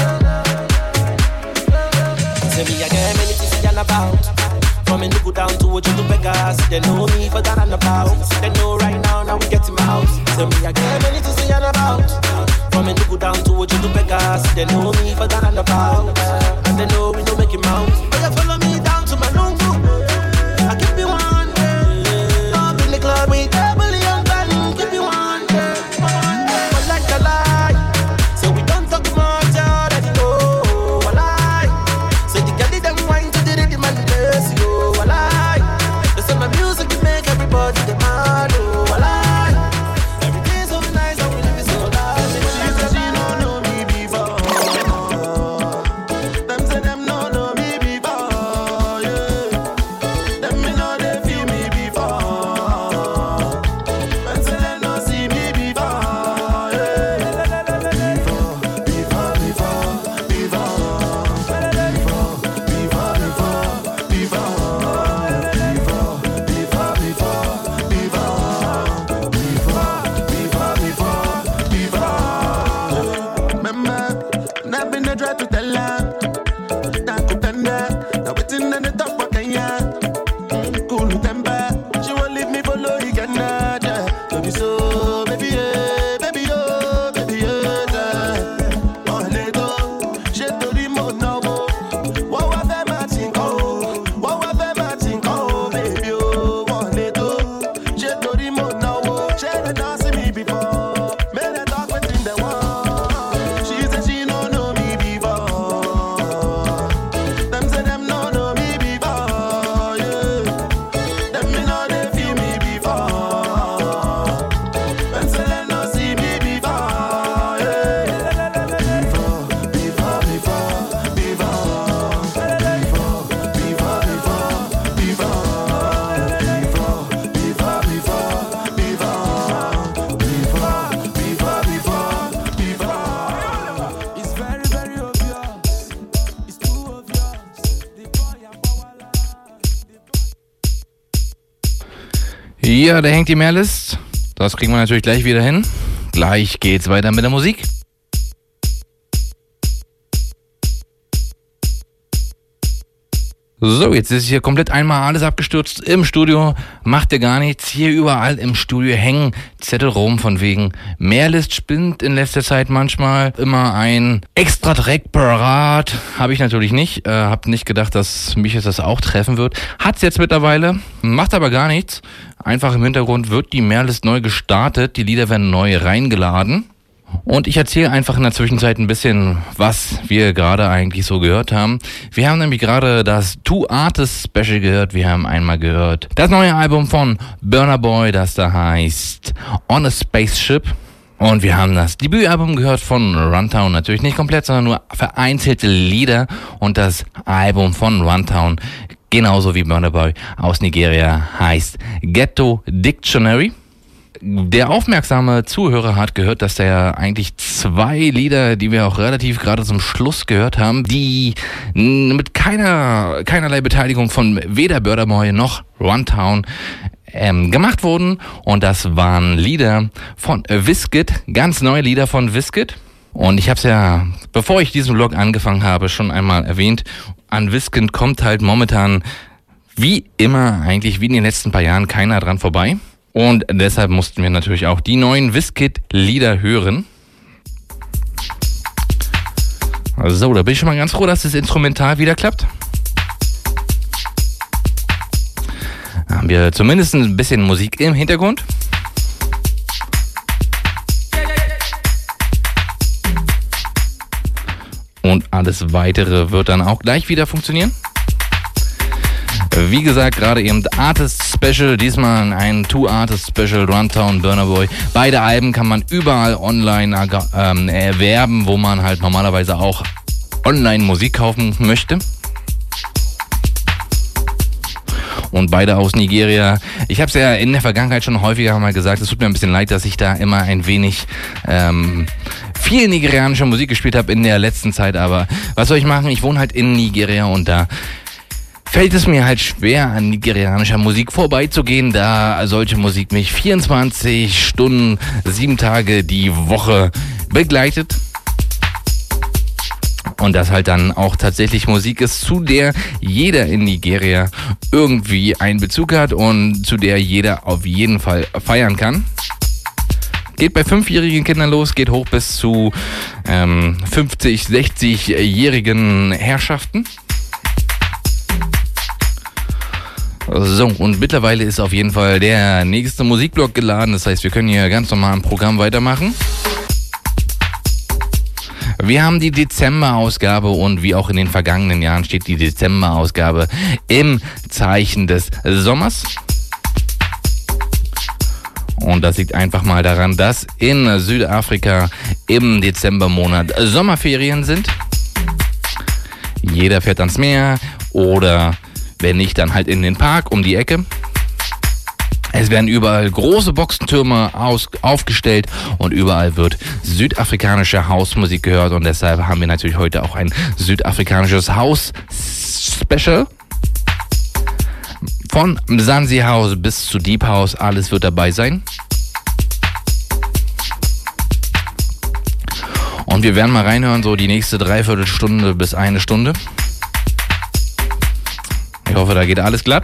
Say me I get many things to yarn about. From in the go down to what you do Vegas. They know me for that and about. They know right now, now we get him out. Say me I get many things to yarn about. From in the go down to what you do Vegas. They know me for that and about. And they know we don't make him out. But you follow me down to my room. I keep you one. Up in the club with double young band. Keep you one. But like a lie, so we don't talk much already know. I lie, so the girl them wine to the rhythm and the bass, yo. I lie, there's some music to make everybody the mad, oh. I lie, everything's try to tell her. That could tender. Now waiting on the top for Kenya. Mm, cool temper. She won't leave me for low again. Yeah. Baby, so, baby, yeah. Baby, oh, baby, yeah. Oh, let go. She told him, oh, no. What was that matching? Oh, what was that matching? Oh, baby, oh, oh, let go. She told him, oh, no. She had not seen me before. Made her talk within the wall. She said she don't know me before. Them say them don't know me before, yeah. Them me know they feel me before. Them say they don't see me before, yeah. Before, before, before, before. Before, before, before, before. Before, before, before, before. Before, before, before, before. It's very, very obvious. It's too obvious. The boy a power. Ja, da hängt die Mehrlist. Das kriegen wir natürlich gleich wieder hin. Gleich geht's weiter mit der Musik. So, jetzt ist hier komplett einmal alles abgestürzt im Studio. Macht ja gar nichts. Hier überall im Studio hängen Zettel rum von wegen Mehrlist spinnt in letzter Zeit manchmal immer ein extra Track parat. Habe ich natürlich nicht. Äh, hab nicht gedacht, dass mich jetzt das auch treffen wird. Hat's jetzt mittlerweile. Macht aber gar nichts. Einfach im Hintergrund wird die Mehrlist neu gestartet. Die Lieder werden neu reingeladen. Und ich erzähle einfach in der Zwischenzeit ein bisschen, was wir gerade eigentlich so gehört haben. Wir haben nämlich gerade das Two Artists Special gehört. Wir haben einmal gehört das neue Album von Burna Boy, das da heißt On a Spaceship. Und wir haben das Debütalbum gehört von Runtown. Natürlich nicht komplett, sondern nur vereinzelte Lieder. Und das Album von Runtown, genauso wie Burna Boy aus Nigeria, heißt Ghetto Dictionary. Der aufmerksame Zuhörer hat gehört, dass der eigentlich zwei Lieder, die wir auch relativ gerade zum Schluss gehört haben, die mit keiner keinerlei Beteiligung von weder Burna Boy noch Runtown ähm, gemacht wurden. Und das waren Lieder von Wizkid, ganz neue Lieder von Wizkid. Und ich habe es ja, bevor ich diesen Vlog angefangen habe, schon einmal erwähnt. An Wizkid kommt halt momentan wie immer eigentlich, wie in den letzten paar Jahren, keiner dran vorbei. Und deshalb mussten wir natürlich auch die neuen Wizkid-Lieder hören. So, da bin ich schon mal ganz froh, dass das Instrumental wieder klappt. Da haben wir zumindest ein bisschen Musik im Hintergrund. Und alles Weitere wird dann auch gleich wieder funktionieren. Wie gesagt, gerade eben Artist Special, diesmal ein Two Artist Special, Runtown, Burna Boy. Beide Alben kann man überall online ähm, erwerben, wo man halt normalerweise auch online Musik kaufen möchte. Und beide aus Nigeria. Ich habe es ja in der Vergangenheit schon häufiger mal gesagt, es tut mir ein bisschen leid, dass ich da immer ein wenig ähm, viel nigerianische Musik gespielt habe in der letzten Zeit. Aber was soll ich machen? Ich wohne halt in Nigeria und da fällt es mir halt schwer, an nigerianischer Musik vorbeizugehen, da solche Musik mich vierundzwanzig Stunden, sieben Tage die Woche begleitet. Und das halt dann auch tatsächlich Musik ist, zu der jeder in Nigeria irgendwie einen Bezug hat und zu der jeder auf jeden Fall feiern kann. Geht bei fünfjährigen Kindern los, geht hoch bis zu ähm, fünfzig-, sechzigjährigen Herrschaften. So, und mittlerweile ist auf jeden Fall der nächste Musikblock geladen. Das heißt, wir können hier ganz normal im Programm weitermachen. Wir haben die Dezember-Ausgabe und wie auch in den vergangenen Jahren steht die Dezember-Ausgabe im Zeichen des Sommers. Und das liegt einfach mal daran, dass in Südafrika im Dezembermonat Sommerferien sind. Jeder fährt ans Meer oder wenn nicht, dann halt in den Park um die Ecke. Es werden überall große Boxentürme aus, aufgestellt und überall wird südafrikanische Hausmusik gehört. Und deshalb haben wir natürlich heute auch ein südafrikanisches Haus-Special. Von Mzansi House bis zu Deep House, alles wird dabei sein. Und wir werden mal reinhören, so die nächste Dreiviertelstunde bis eine Stunde. Ich hoffe, da geht alles glatt.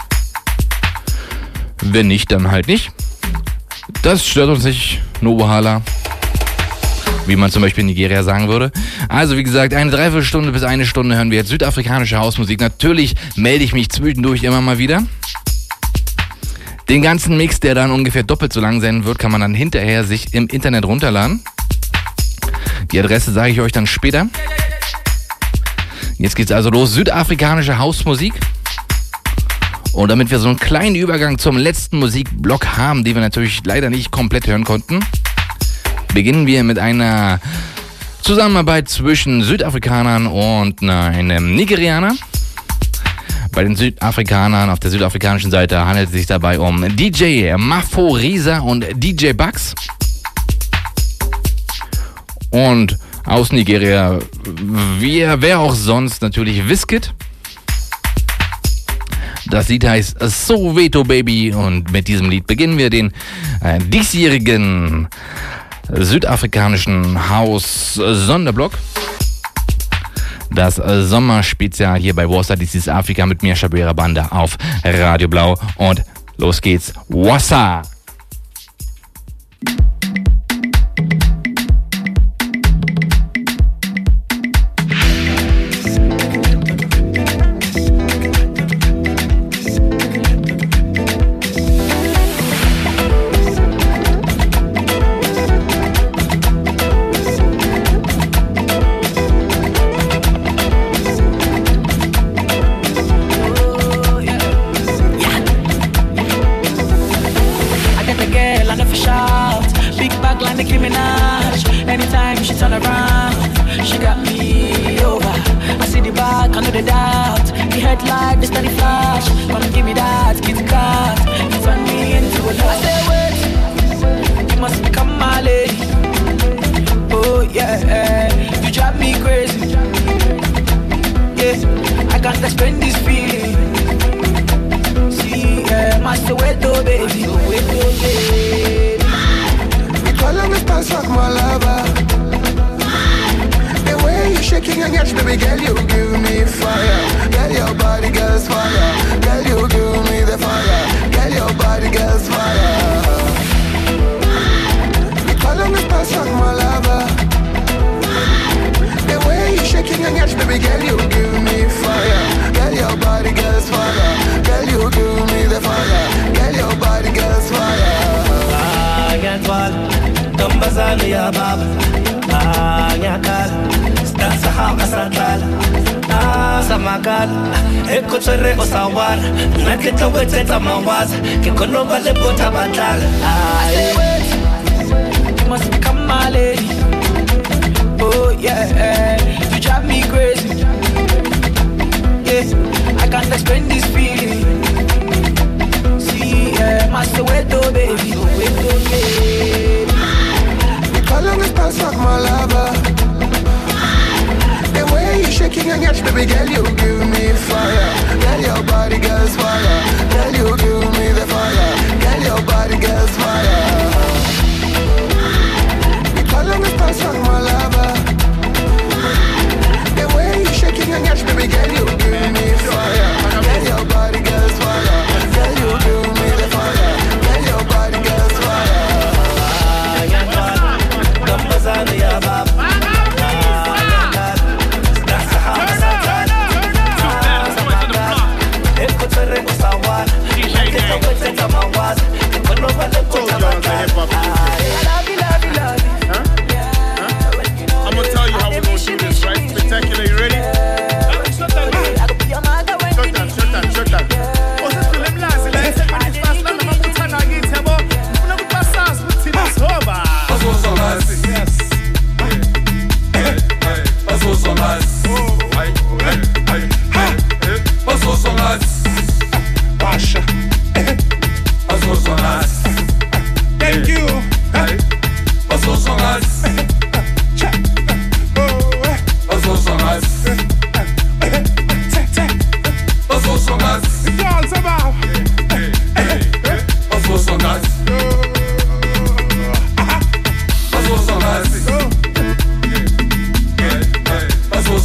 Wenn nicht, dann halt nicht. Das stört uns nicht, Nobuhala. Wie man zum Beispiel in Nigeria sagen würde. Also wie gesagt, eine Dreiviertelstunde bis eine Stunde hören wir jetzt südafrikanische Hausmusik. Natürlich melde ich mich zwischendurch immer mal wieder. Den ganzen Mix, der dann ungefähr doppelt so lang sein wird, kann man dann hinterher sich im Internet runterladen. Die Adresse sage ich euch dann später. Jetzt geht's also los. Südafrikanische Hausmusik. Und damit wir so einen kleinen Übergang zum letzten Musikblock haben, den wir natürlich leider nicht komplett hören konnten, beginnen wir mit einer Zusammenarbeit zwischen Südafrikanern und einem Nigerianer. Bei den Südafrikanern auf der südafrikanischen Seite handelt es sich dabei um D J Maphorisa und D J Bugs. Und aus Nigeria, wie, wer auch sonst, natürlich Wizkid. Das Lied heißt Soweto Baby und mit diesem Lied beginnen wir den äh, diesjährigen südafrikanischen Haus-Sonderblock. Das äh, Sommerspezial hier bei Warsaw, This is Afrika mit mir, Shabira Banda auf Radio Blau. Und los geht's, Warsaw!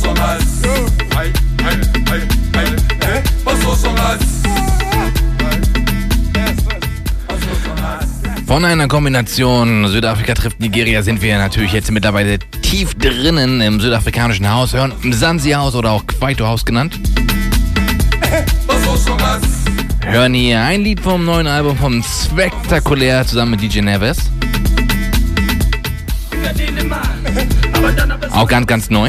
Von einer Kombination Südafrika trifft Nigeria sind wir natürlich jetzt mittlerweile tief drinnen im südafrikanischen Haus, hören Mzansi House oder auch Kwaito House genannt. Hören hier ein Lied vom neuen Album von Spektakulär zusammen mit D J Neves. Auch ganz, ganz neu.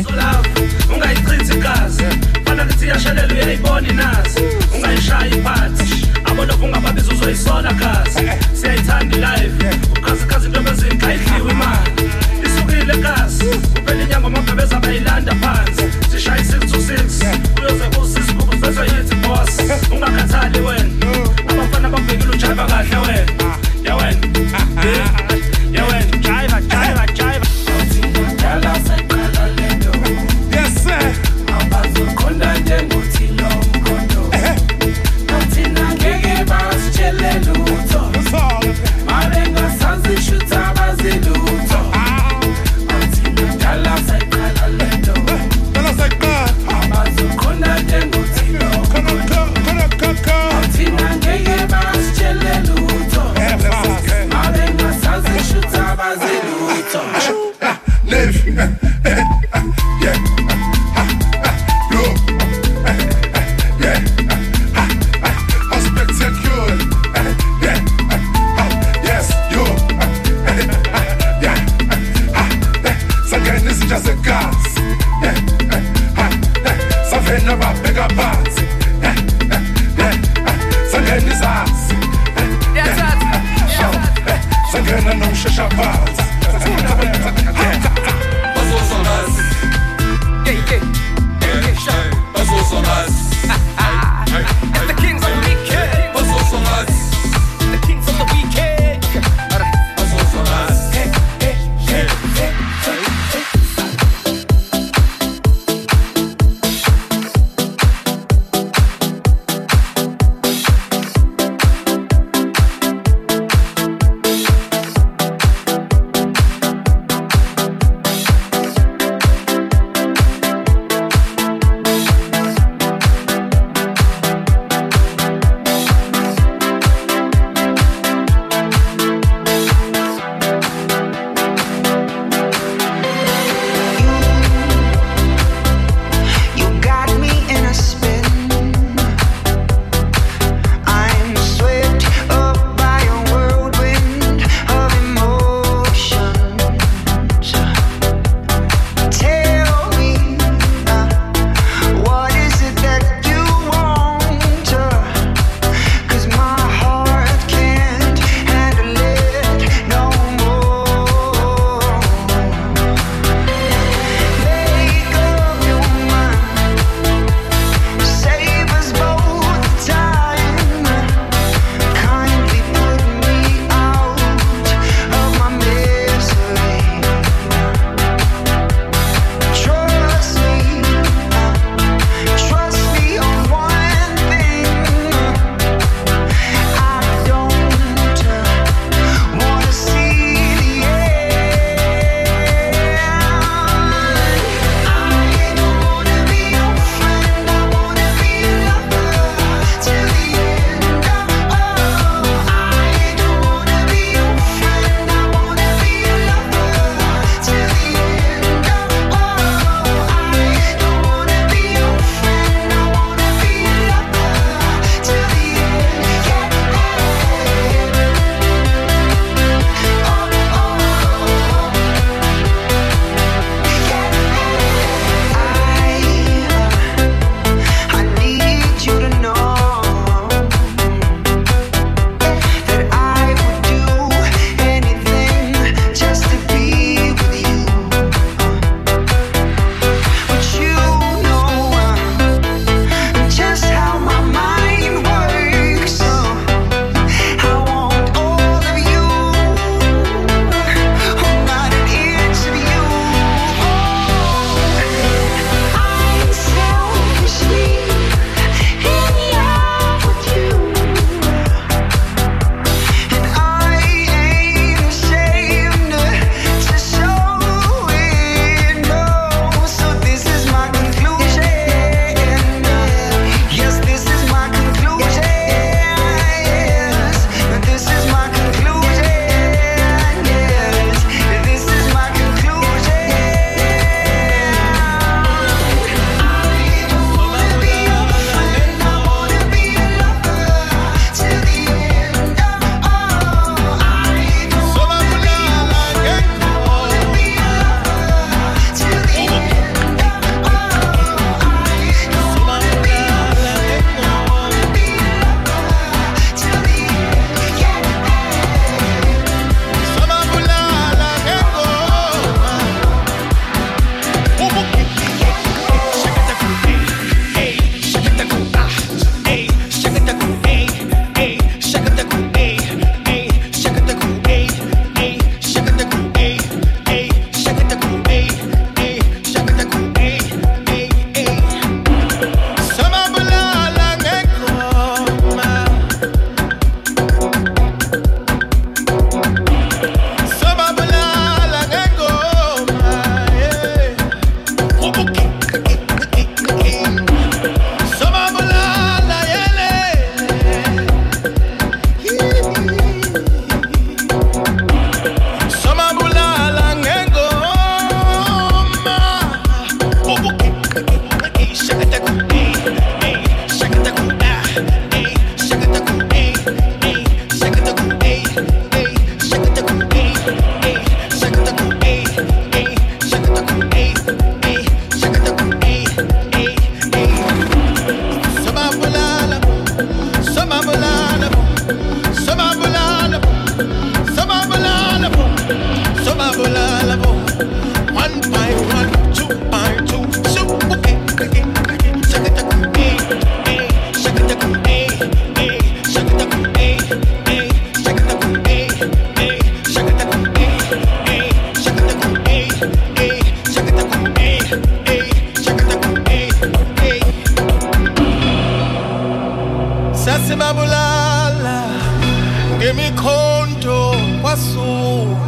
sibabulala ngemikhonto kwasuku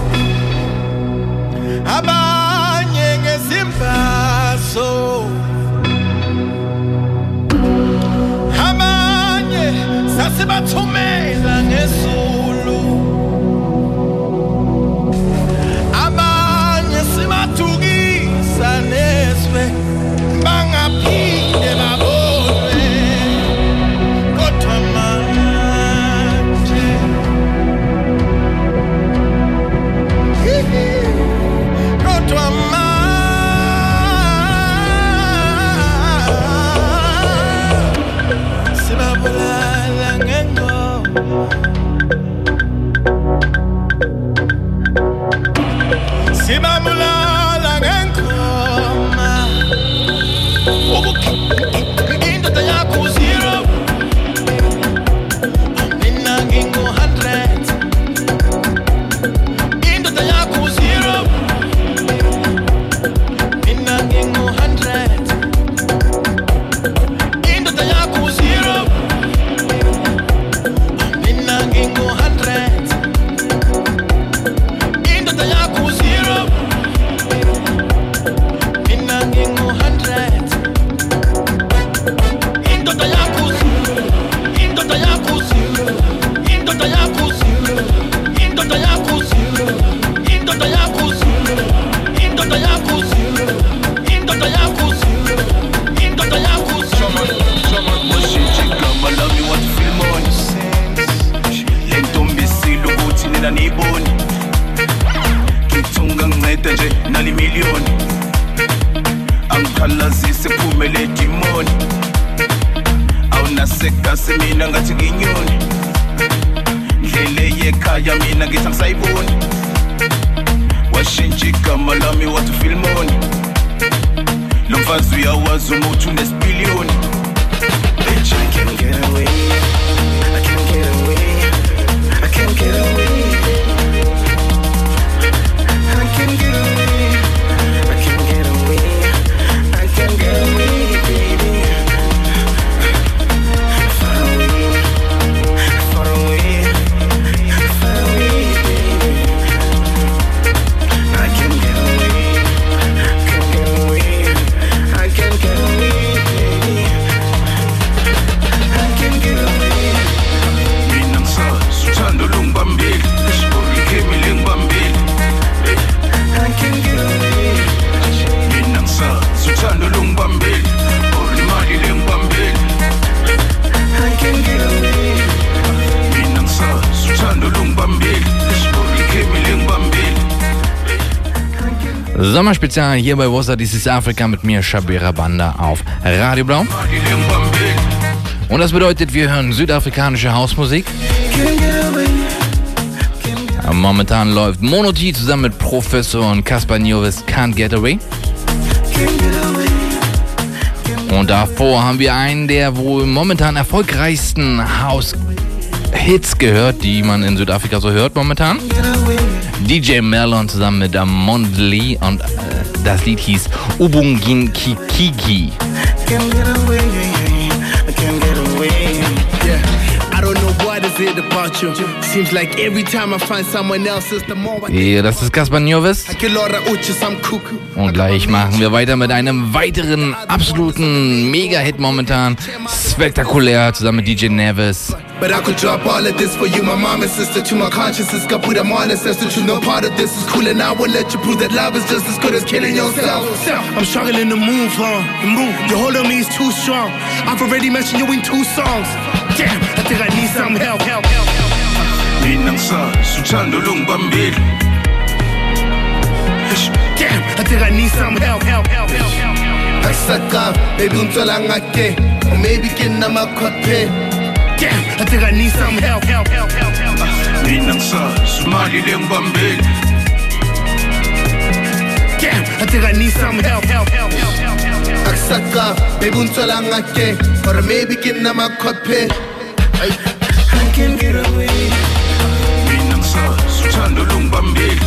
abanye ngezimbazo abanye sasibathumela ngesulu abanye sibathukisa neswe bangaphinde babone kodwa manje kodwa manje sibabulala ngengoma sibabulala ngengoma indoda yakho zero mina ngingu hundred indoda yakho zero mina ngingu hundred indoda yakho zero mina ngingu hundred indoda yakho zero mina ngingu hundred indoda yakho zero indoda yakho zero indoda yakho zero indoda yakho zero indoda yakho zero indoda yakho zero indoda yakho zero indoda yakho zero someone someone bullshit igama lami wathi film on le ntombi isilo ukuthi nina niyiboni ngithunga nginceda nje nali million angikhalazise phumele demoni awunasekasi mina ngathi nginyoni ndlele yekhaya mina ngithi angisayiboni washintsha igama lami wathi filmoni lo mfazi uyawazi umuthi unesipiliyoni bitch I can't get away I can't get away I can't get away I can't get away I can't get away I can't get away baby far away far away far away baby I can't get away can't get away I can't get away baby I can't get away mina ngisazi uthando lungibambile isikhemile ngibambile I can't get away mina ngisazi uthando lungibambile olimali lengibambile I can't get away mina ngisazi uthando lungibambile isikhemile ngibambile Sommerspezial hier bei Wossa, dies ist Afrika mit mir, Shabira Banda auf Radio Blau. Und das bedeutet, wir hören südafrikanische Hausmusik. Momentan läuft Mono T zusammen mit Professor und Caspar Nyovest Can't Get Away. Und davor haben wir einen der wohl momentan erfolgreichsten House-Hits gehört, die man in Südafrika so hört momentan. D J Merlon zusammen mit Mondli und äh, das Lied hieß Ubungin Kikiki. Ja, das ist Caspar Nyovest. Und gleich machen wir weiter mit einem weiteren absoluten Mega-Hit momentan. Spektakulär zusammen mit D J Neves. But I could drop all of this for you, my mom and sister. To my conscience, got put them all ancestors. You know part of this is cool, and I will let you prove that love is just as good as killing yourself. I'm struggling to move, huh? Move. Your hold on me is too strong. I've already mentioned you in two songs. Damn, I think I need some help. Help, help, help. Mina ngisazi uthando lungibambile. Damn, I think I need some help. Help, help, help, help. Aksaka, baby untsola ngake, or maybe kina makhophe. Damn, I think I need some help, help, help, help, help. Mina ngisazi imali lengibambile. Damn, I think I need some help, help, help, help, help, help. Aksaka, baby untsola ngake, or maybe kina makhophe. I can't get away. Mina ngisazi uthando lungibambile.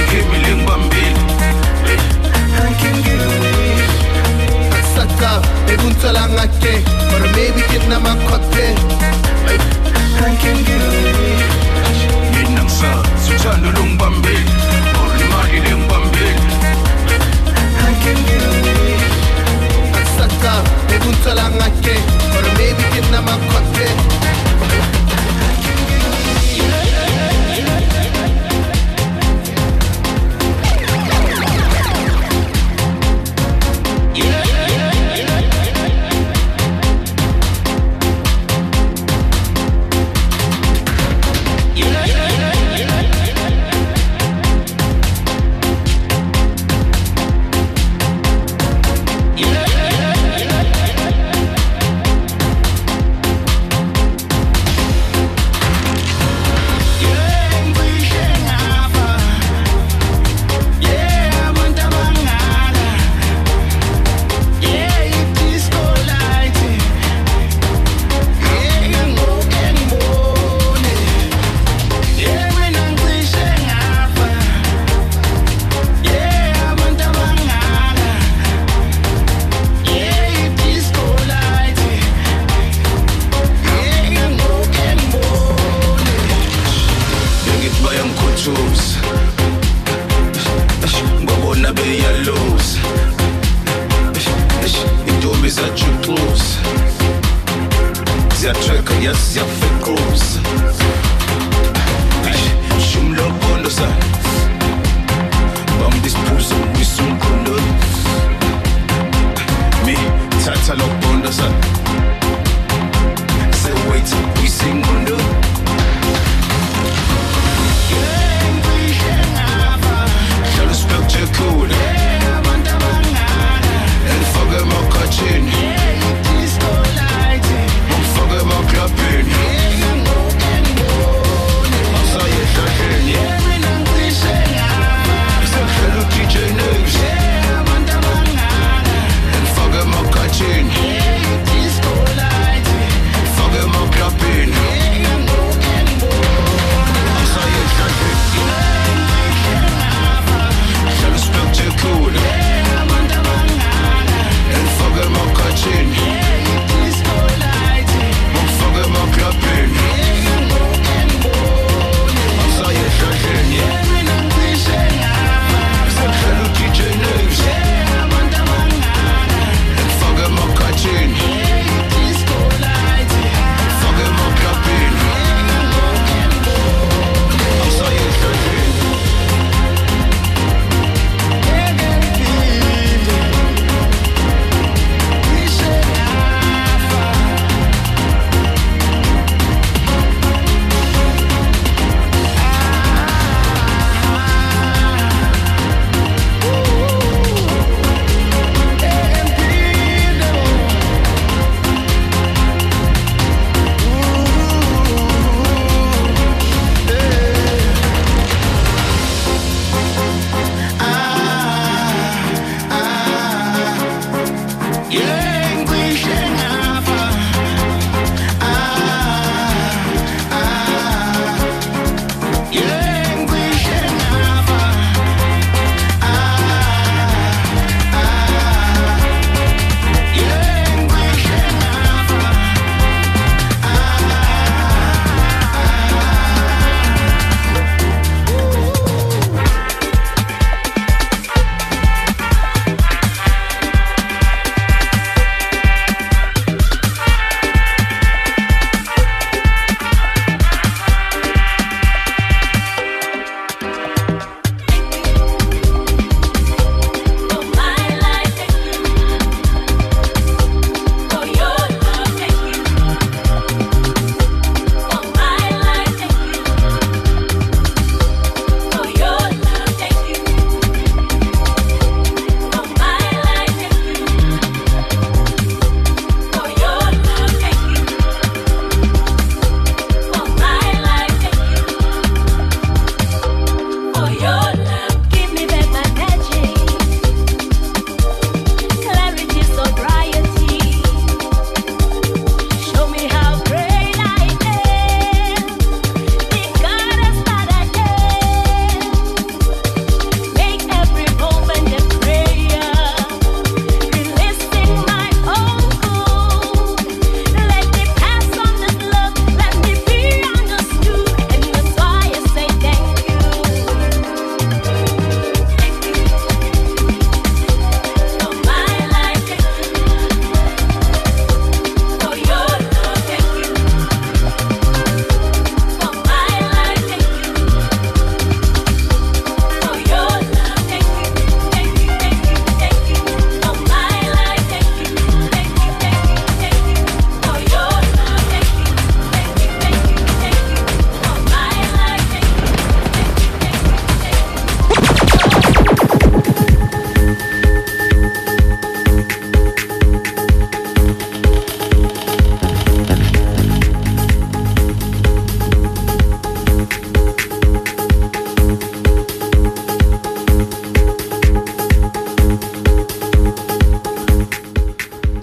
Isikhemile ngibambile. I can't get away. Aksaka, egunta lang ake, or maybe kid na makote. I can get away. Yenang sa suchano lung bambil, or limagi lung bambil. I can get away. Aksaka egunta lang ake, or maybe kid na makote.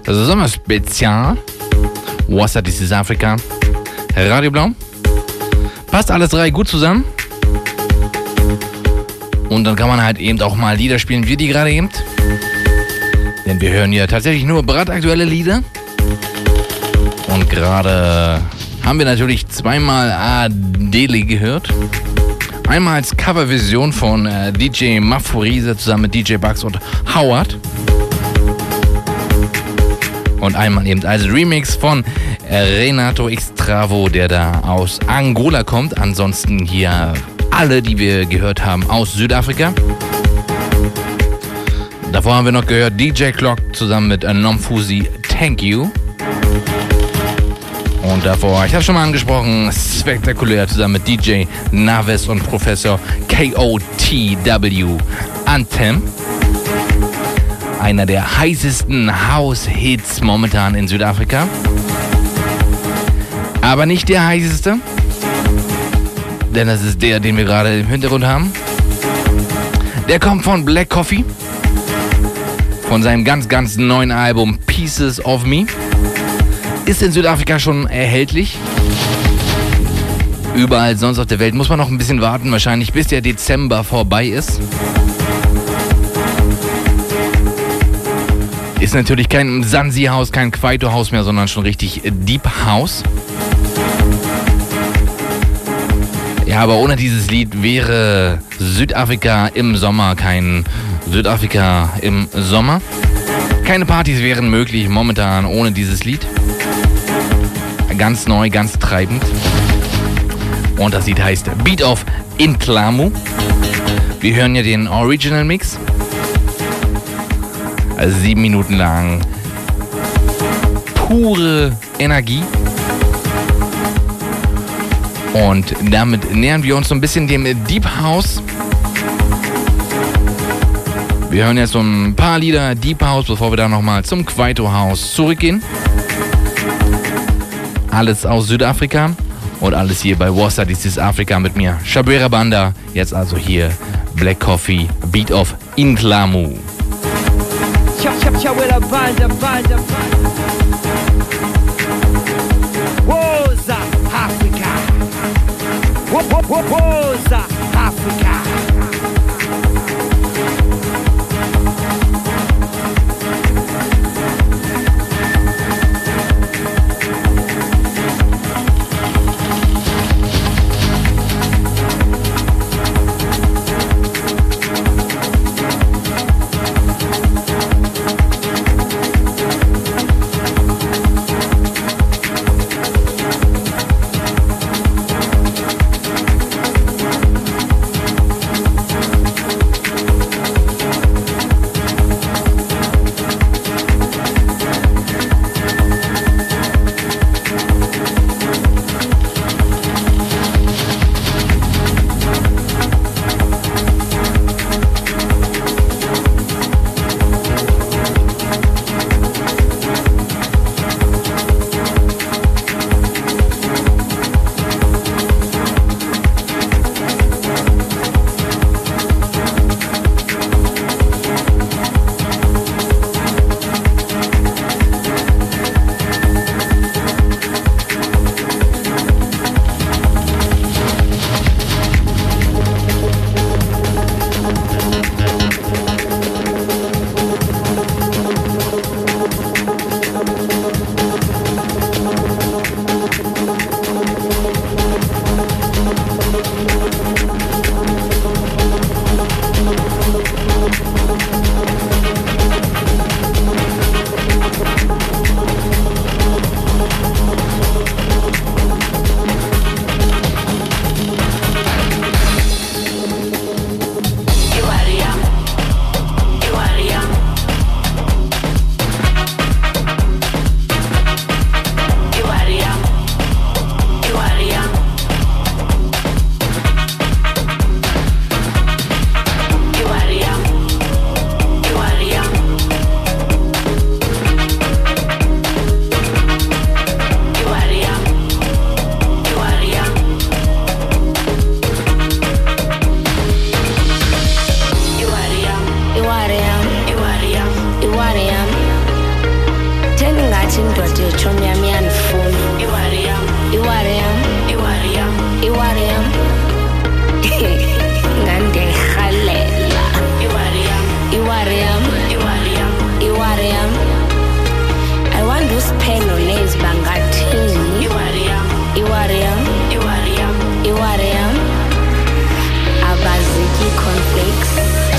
Sommerspezial. Wasser, this is Africa. Radio Blau. Passt alles drei gut zusammen. Und dann kann man halt eben auch mal Lieder spielen, wie die gerade eben. Denn wir hören ja tatsächlich nur brandaktuelle Lieder. Und gerade haben wir natürlich zweimal Adele gehört. Einmal als Coverversion von äh, D J Maphorisa zusammen mit D J Bugs und Howard. Und einmal eben als Remix von äh, Renato Extravo, der da aus Angola kommt. Ansonsten hier alle, die wir gehört haben, aus Südafrika. Davor haben wir noch gehört D J Clock zusammen mit äh, Nomfusi, Thank You. Und davor, ich habe schon mal angesprochen, spektakulär zusammen mit D J Naves und Professor K O T W, Anthem. Einer der heißesten House-Hits momentan in Südafrika. Aber nicht der heißeste, denn das ist der, den wir gerade im Hintergrund haben. Der kommt von Black Coffee, von seinem ganz, ganz neuen Album Pieces of Me. Ist in Südafrika schon erhältlich. Überall sonst auf der Welt muss man noch ein bisschen warten, wahrscheinlich bis der Dezember vorbei ist. Ist natürlich kein Sansi-Haus, kein Kwaito-Haus mehr, sondern schon richtig Deep House. Ja, aber ohne dieses Lied wäre Südafrika im Sommer kein Südafrika im Sommer. Keine Partys wären möglich momentan ohne dieses Lied. Ganz neu, ganz treibend. Und das Lied heißt Beat of Intlamu. Wir hören ja den Original Mix. Also sieben Minuten lang pure Energie. Und damit nähern wir uns so ein bisschen dem Deep House. Wir hören jetzt so ein paar Lieder Deep House, bevor wir dann nochmal zum Kwaito House zurückgehen. Alles aus Südafrika und alles hier bei Wasser, this is Africa mit mir, Shabera Banda. Jetzt also hier Black Coffee, Beat of Intlamu. Shabera Banda, Banda, Banda. Wasser, Africa. Wasser, Africa. ngathi indoda yetshomi yami iyandifuna. Iwari yam, iwari yam, iwari yam, iwari yam. Ngandikhalela. Iwari yam, iwari yam, iwari yam, iwari yam. I wonder usiphelo lezi bangathini. Iwari yam, iwari yam, iwari yam, iwari yam. Abaziki conflicts.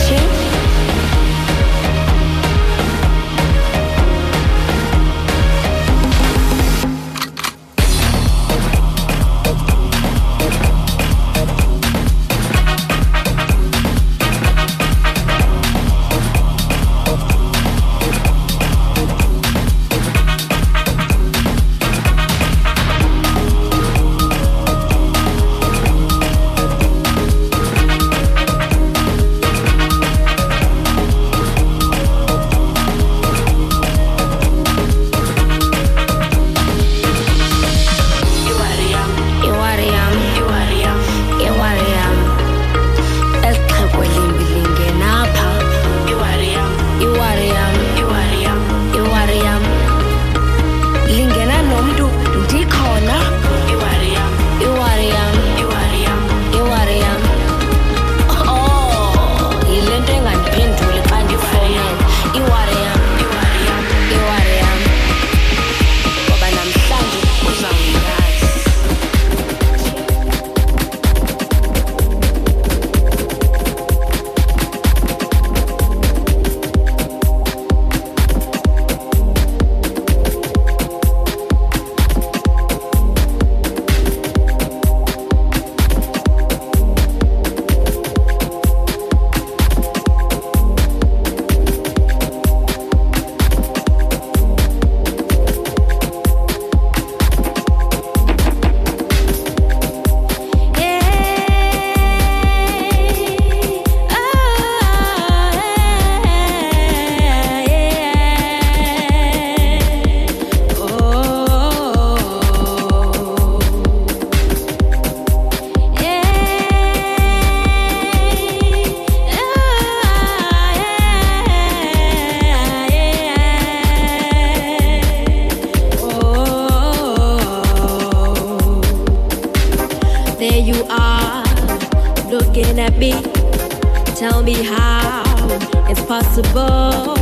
Tell me how it's possible.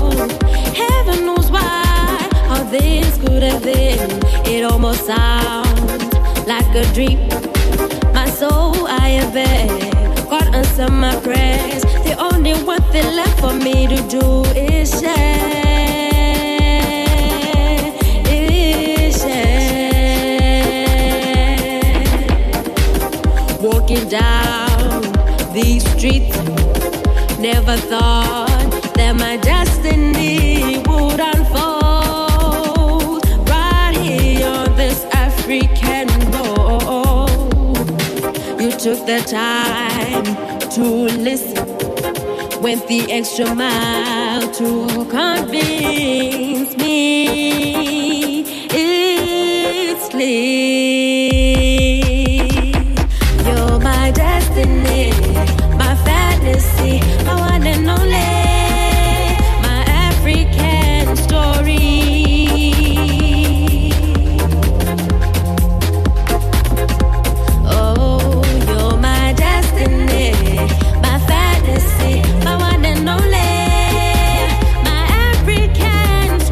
Heaven knows why, how this could have been. It almost sounds like a dream. My soul, I have been. God answer my prayers. The only one thing left for me to do is share. Is share. Walking down these streets, never thought that my destiny would unfold right here on this African road. You took the time to listen, went the extra mile to convince me it's clear. You're my destiny, my fantasy, my one and only, my African story. Oh, you're my destiny, my fantasy, my one and only, my African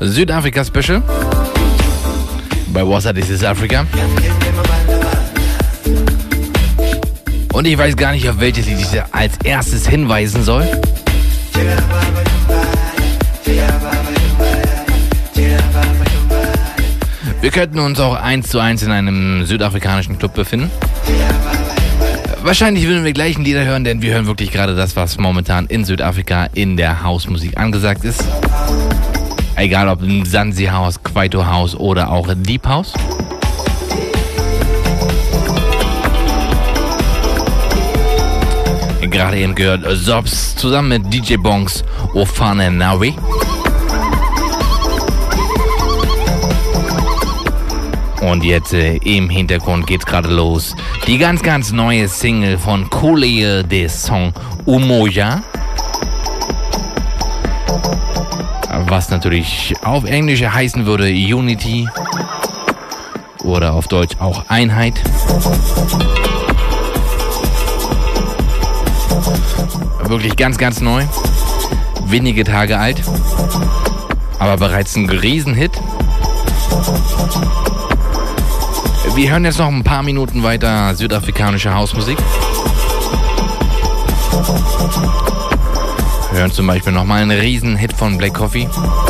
Südafrika-Special. Bei Wassa, This is Africa. Und ich weiß gar nicht, auf welches Lied ich als erstes hinweisen soll. Wir könnten uns auch eins zu eins in einem südafrikanischen Club befinden. Wahrscheinlich würden wir gleich ein Lieder hören, denn wir hören wirklich gerade das, was momentan in Südafrika in der Hausmusik angesagt ist. Egal ob im Zanzi House, Kwaito House oder auch Deep House. Gerade eben gehört Zobs zusammen mit D J Bongs Ofane Nawi. Und jetzt äh, im Hintergrund geht's gerade los. Die ganz, ganz neue Single von Kole, der Song Umoja. Was natürlich auf Englisch heißen würde Unity. Oder auf Deutsch auch Einheit. Wirklich ganz, ganz neu. Wenige Tage alt. Aber bereits ein Riesenhit. Wir hören jetzt noch ein paar Minuten weiter südafrikanische Hausmusik. Wir hören zum Beispiel nochmal einen Riesenhit von Black Coffee.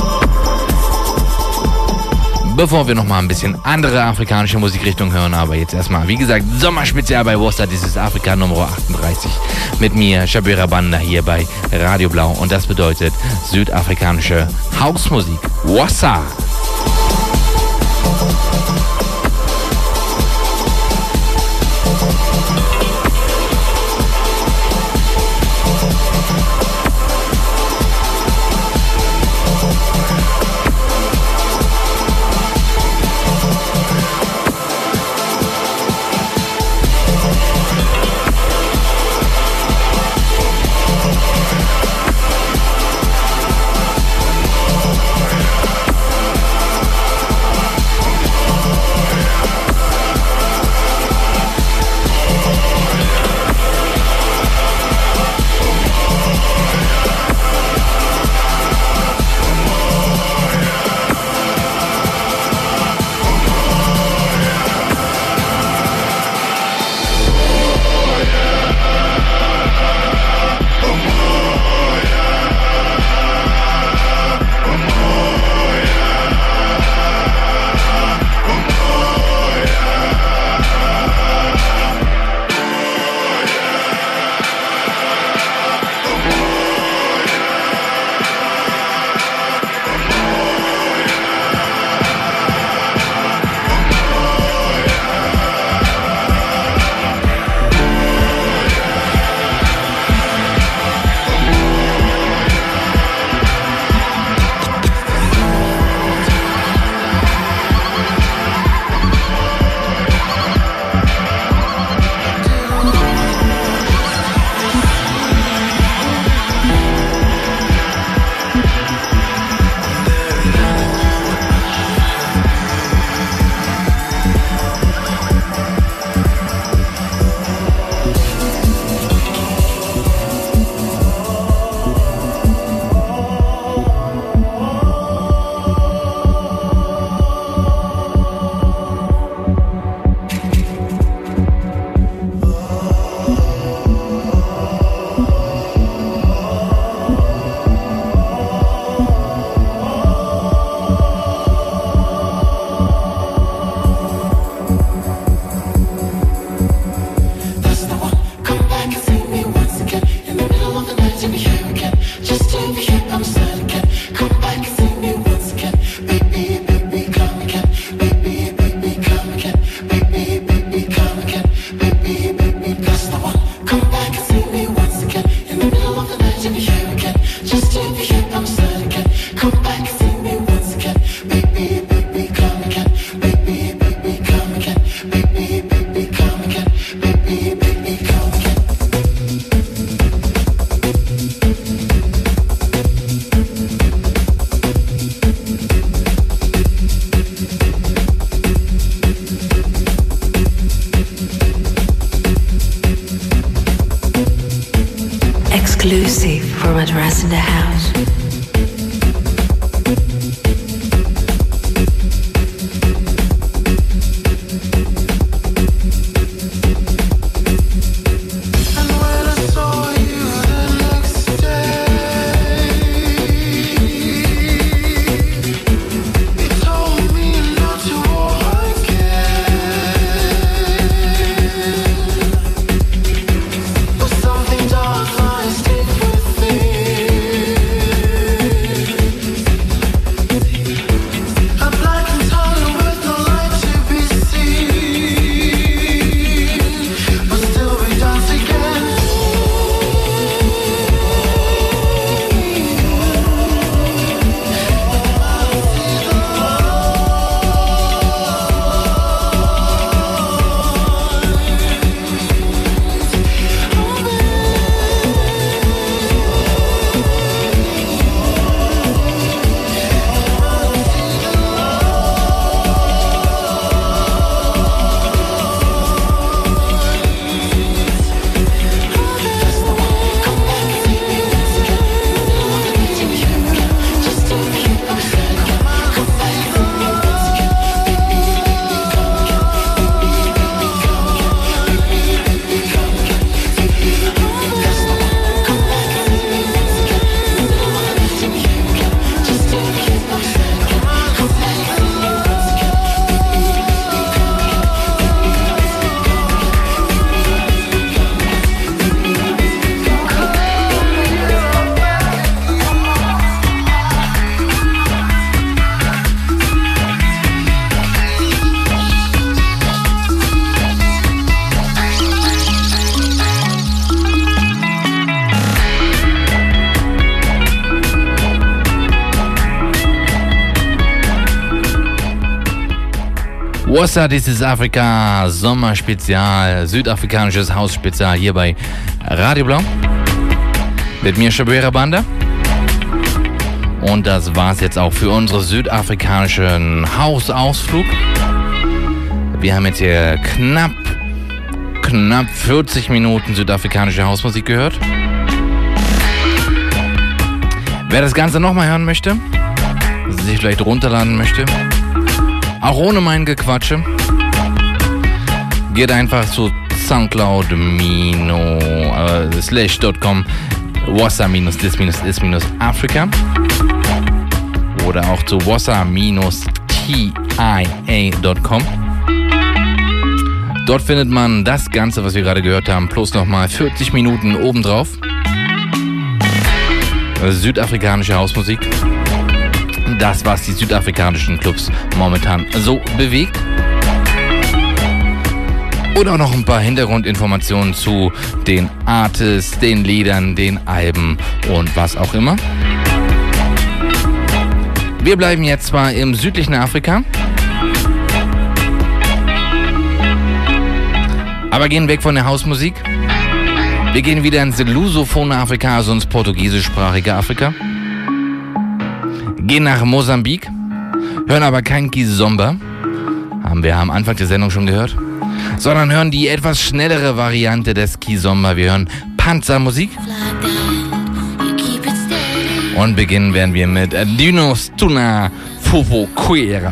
Bevor wir nochmal ein bisschen andere afrikanische Musikrichtung hören, aber jetzt erstmal, wie gesagt, Sommerspezial bei Wassa, dieses Afrika Nummer achtunddreißig. Mit mir, Shabira Banda, hier bei Radio Blau. Und das bedeutet südafrikanische Hausmusik. Wassa! Exclusive from Address in the House. Wassa, this is Afrika, Sommerspezial, südafrikanisches Hausspezial hier bei Radio Blau. Mit mir Shabera Banda. Und das war's jetzt auch für unseren südafrikanischen Hausausflug. Wir haben jetzt hier knapp, knapp vierzig Minuten südafrikanische Hausmusik gehört. Wer das Ganze nochmal hören möchte, sich vielleicht runterladen möchte, auch ohne mein Gequatsche, geht einfach zu soundcloud slash dot com wassa this is Afrika oder auch zu wassa T I A dot com. Dort findet man das Ganze, was wir gerade gehört haben, plus nochmal vierzig Minuten obendrauf. Südafrikanische Hausmusik. Das, was die südafrikanischen Clubs momentan so bewegt. Und auch noch ein paar Hintergrundinformationen zu den Artists, den Liedern, den Alben und was auch immer. Wir bleiben jetzt zwar im südlichen Afrika, aber gehen weg von der Hausmusik. Wir gehen wieder ins lusophone Afrika, also ins portugiesischsprachige Afrika. Gehen nach Mosambik, hören aber kein Kizomba, haben wir am Anfang der Sendung schon gehört, sondern hören die etwas schnellere Variante des Kizomba. Wir hören Panzermusik. Und beginnen werden wir mit Dinos Tuna Fufuquera.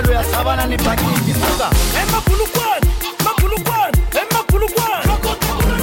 Emma Pulukwan, Emma Pulukwan, Emma Pulukwan.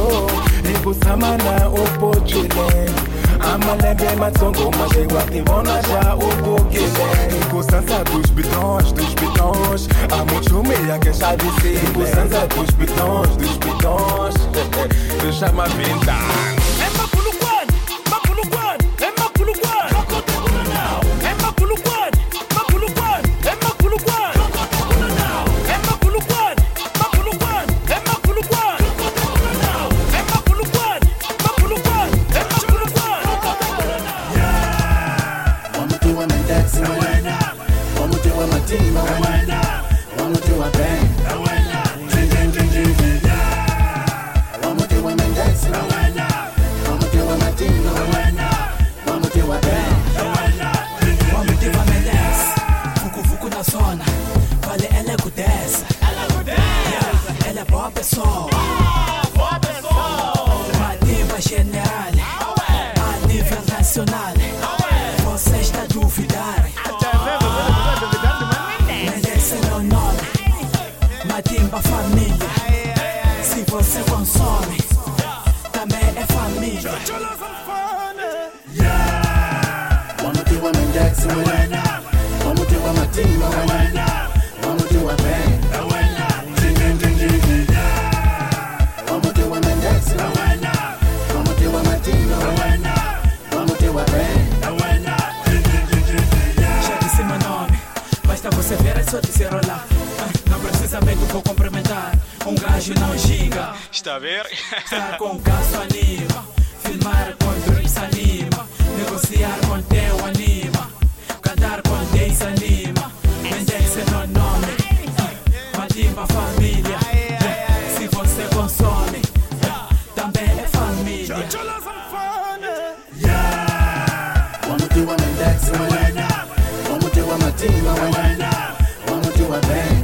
ikusamana upochile amalembe matsongo majewa tivona já ubukile ikusansa dos bidões, dos bidões amuchumia que já disse ikusansa dos bidões, dos bidões deixa ma pinta. Está a ver? Estar com caso anima, filmar com drips anima, negociar com teu anima, cantar com dez anima, vender-se no nome, matimba família, se você consome, também é família. Vamos ter uma Mendex, vamos ter uma Matimba, vamos ter uma band.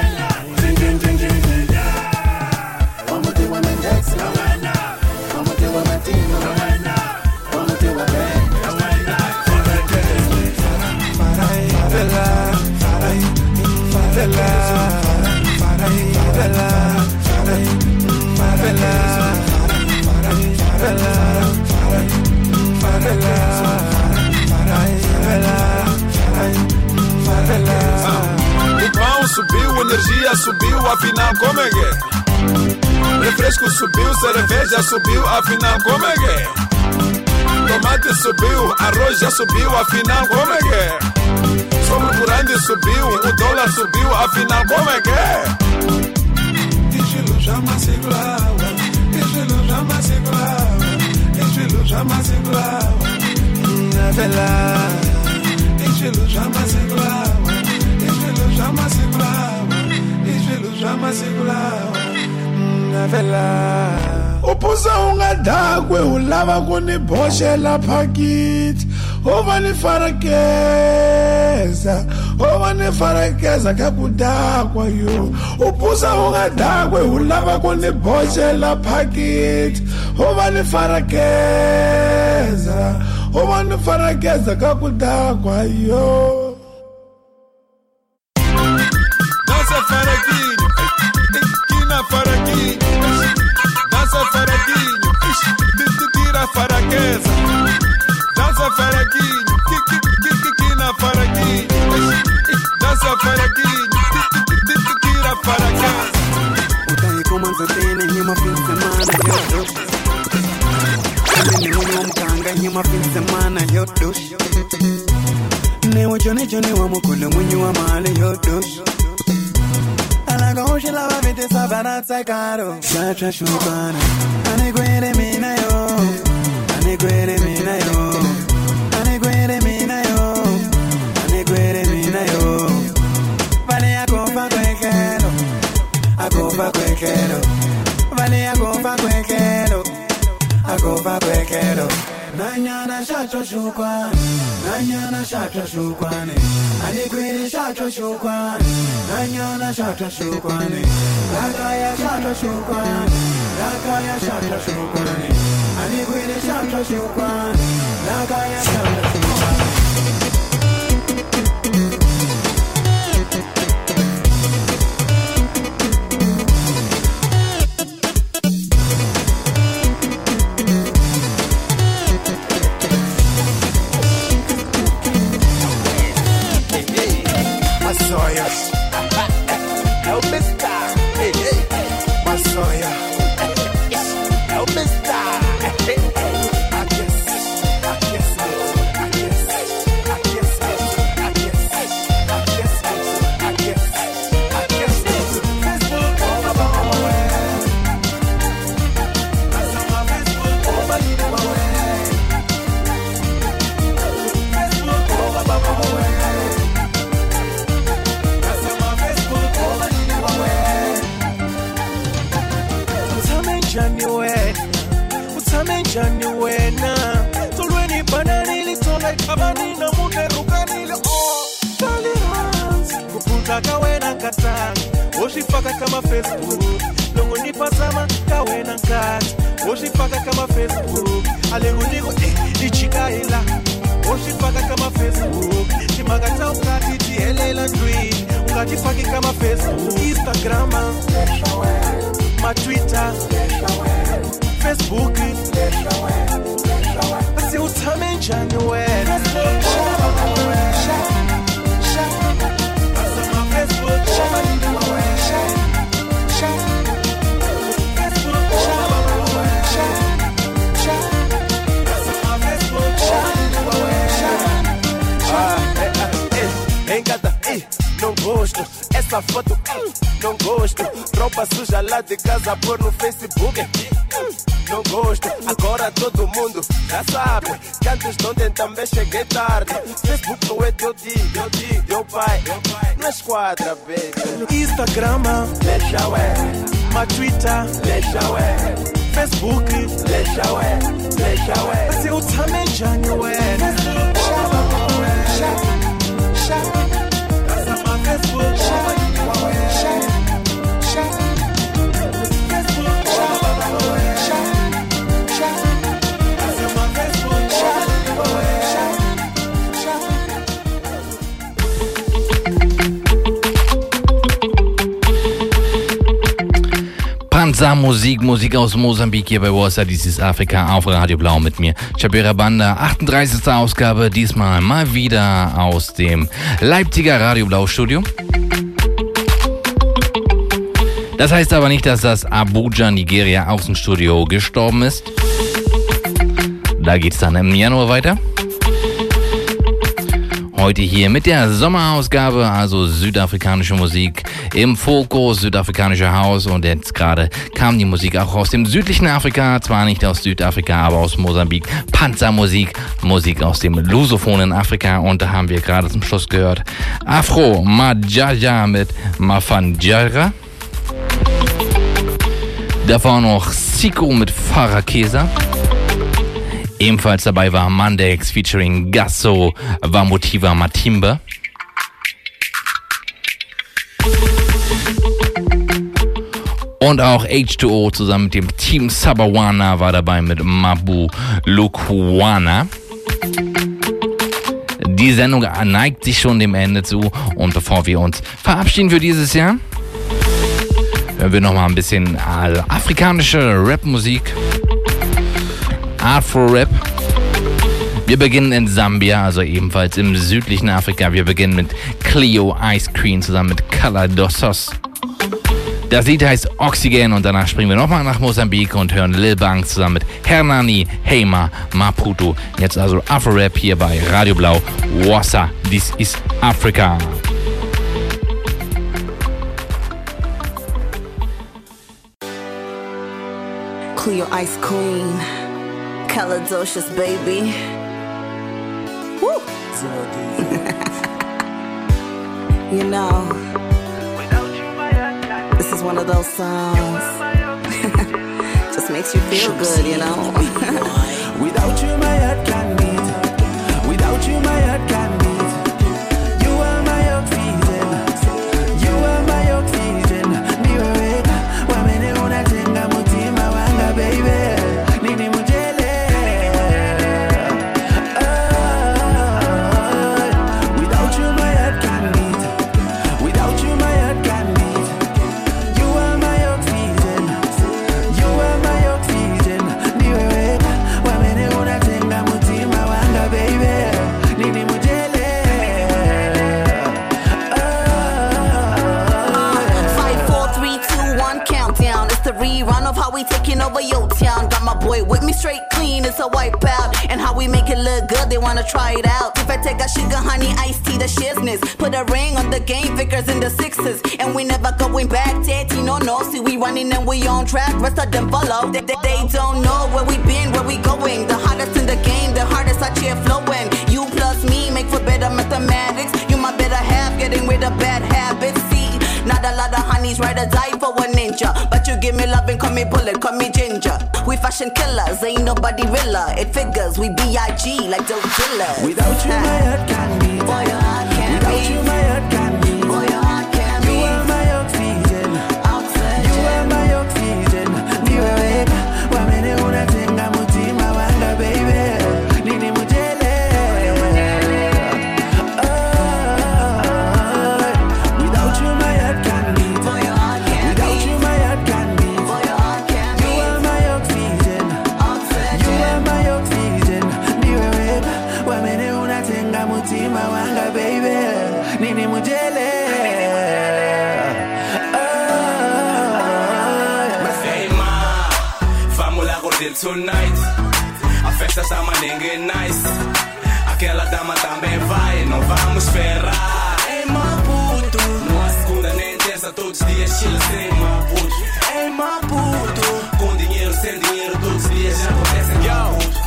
O pão subiu, energia subiu, afinal como é que é? Refresco subiu, cerveja subiu, afinal como é que é? Tomate subiu, arroz já subiu, afinal como é que é? Sobre o grande subiu, o dólar subiu, afinal como é que é? Estilo chama segurava, estilo chama segurava, estilo chama segurava, é verdade. Estilo chama segurava, estilo chama segurava, estilo chama segurava, é verdade. Upuza ungadagwe ulava kunibhoshela phakiti ovani farakeza ovani farakeza kakudakwa yo upuza ungadagwe ulava kunibhoshela phakiti ovani farakeza ovani farakeza kakudakwa yo dança faraquinho kina faraquinho dança faraquinho, tira faraqueza. Dança faraquinho, que na faraquinho. Dança faraquinho, tira faraqueza. O tá aí como antes tem nenhuma fim de semana, eu tô. Também nenhum canga, nenhuma fim de semana, eu tô. Nem o Johnny Johnny, o amo com o munho amale, eu tô. Hoje ela vai ver essa barata sai caro. Chacha chupana, aneguere mina yo, aneguere mina yo, aneguere mina yo, aneguere mina yo. Vale a copa cuequero, a copa cuequero, vale a copa cuequero, a copa cuequero. Nanyana chacha chupana, nanyana chacha chupana, aneguere chacha chupana. Nanyana shatra shukwani, Lakaya shatra shukwani, Lakaya shatra shukwani, Anigwini shatra shukwani, Lakaya shatra shukwani. utame njani wena tolweni bananili tolai kabanina munerukanile oh tolerance kupunta kawena katanga oshifaka kama Facebook longo nipatama kawena nkati oshifaka kama Facebook alengo niko ichikaila oshifaka kama Facebook chimagata ukati tihelela ndwi ungatifaki kama Facebook Instagram ma Twitter Facebook asi utame njani wena não gosto, essa foto não gosto, roupa suja lá de casa pôr no Facebook não gosto, agora todo mundo já sabe que antes de ontem também cheguei tarde. Facebook não é teu tio, teu tio, teu pai, não é esquadra, baby. Instagram, deixa ué, ma Twitter, deixa ué, Facebook, deixa ué, deixa ué. Se o também já não é, Panza Musik, Musik aus Mosambik hier bei Warsaw, dies ist Afrika auf Radio Blau mit mir, Chabera Banda, achtunddreißigste Ausgabe, diesmal mal wieder aus dem Leipziger Radio Blau Studio. Das heißt aber nicht, dass das Abuja, Nigeria Außenstudio gestorben ist. Da geht's dann im Januar weiter. Heute hier mit der Sommerausgabe, also südafrikanische Musik im Fokus, südafrikanische Haus und jetzt gerade kam die Musik auch aus dem südlichen Afrika, zwar nicht aus Südafrika, aber aus Mosambik, Panzermusik, Musik aus dem lusophonen Afrika und da haben wir gerade zum Schluss gehört Afro Majaja mit Mafanjara, davor noch Siko mit Farakesa. Ebenfalls dabei war Mandex featuring Gasso Vamotiva Matimba. Und auch H zwei O zusammen mit dem Team Sabawana war dabei mit Mabu Lukuana. Die Sendung neigt sich schon dem Ende zu und bevor wir uns verabschieden für dieses Jahr, hören wir nochmal ein bisschen afrikanische Rapmusik. Afro-Rap. Wir beginnen in Sambia, also ebenfalls im südlichen Afrika. Wir beginnen mit Cleo Ice Cream zusammen mit Kaladossos. Das Lied heißt Oxygen und danach springen wir nochmal nach Mosambik und hören Lil Bang zusammen mit Hernani, Heima, Maputo. Jetzt also Afro-Rap hier bei Radio Blau. Wassa, this is Africa. Cleo Ice Queen. Caladocious, baby. Woo! You know, this is one of those songs. Just makes you feel good, you know. Without you, my heart can't beat. Without you, my heart can't beat. You are my oxygen. You are my oxygen. Niwe, wamene unatenga mutima wanga, baby. Nini mujele. Taking over your town, got my boy with me straight clean, it's a wipeout. And how we make it look good, they wanna try it out. If I take a sugar, honey, iced tea, the shizness. Put a ring on the game, Vickers in the sixes. And we never going back, Tati, no, no. See, we running and we on track, rest of them follow. They, they, they don't know where we been, where we going. The hottest in the game, the hardest I cheer flowing. You plus me make for better mathematics. You my better half, getting rid of bad habits. See, not a lot of honeys ride or die for a ninja. But you give me love and call me bullet, call me ginger. We fashion killers. Ain't nobody realer. It figures we B I G like dope killers. Without you, my heart can't beat. Boy, your heart can't Without beat. you, my heart can't beat. Boy, your heart can't You beat. are my oxygen. Oxygen. You are my oxygen. Niwe weka, wamene unatenga mutima wanga, baby. Nini mujele. Oh, without you, my heart can't beat. Boy, your heart can't Without beat. you, my heart can't beat. Boy, your heart can't You beat. are my oxygen. Oxygen. You are my oxygen. Niwe weka, wamene unatenga mutima wanga, baby. Nini mujele. Hey ma, vamos lá curtir tonight. A festa está maningue nice. Aquela dama também vai, não vamos esperar. Ei Maputo, numa segunda nem terça, todos os dias chile sem Maputo. Ei Maputo, com dinheiro, sem dinheiro, todos os dias já acontecem em Maputo.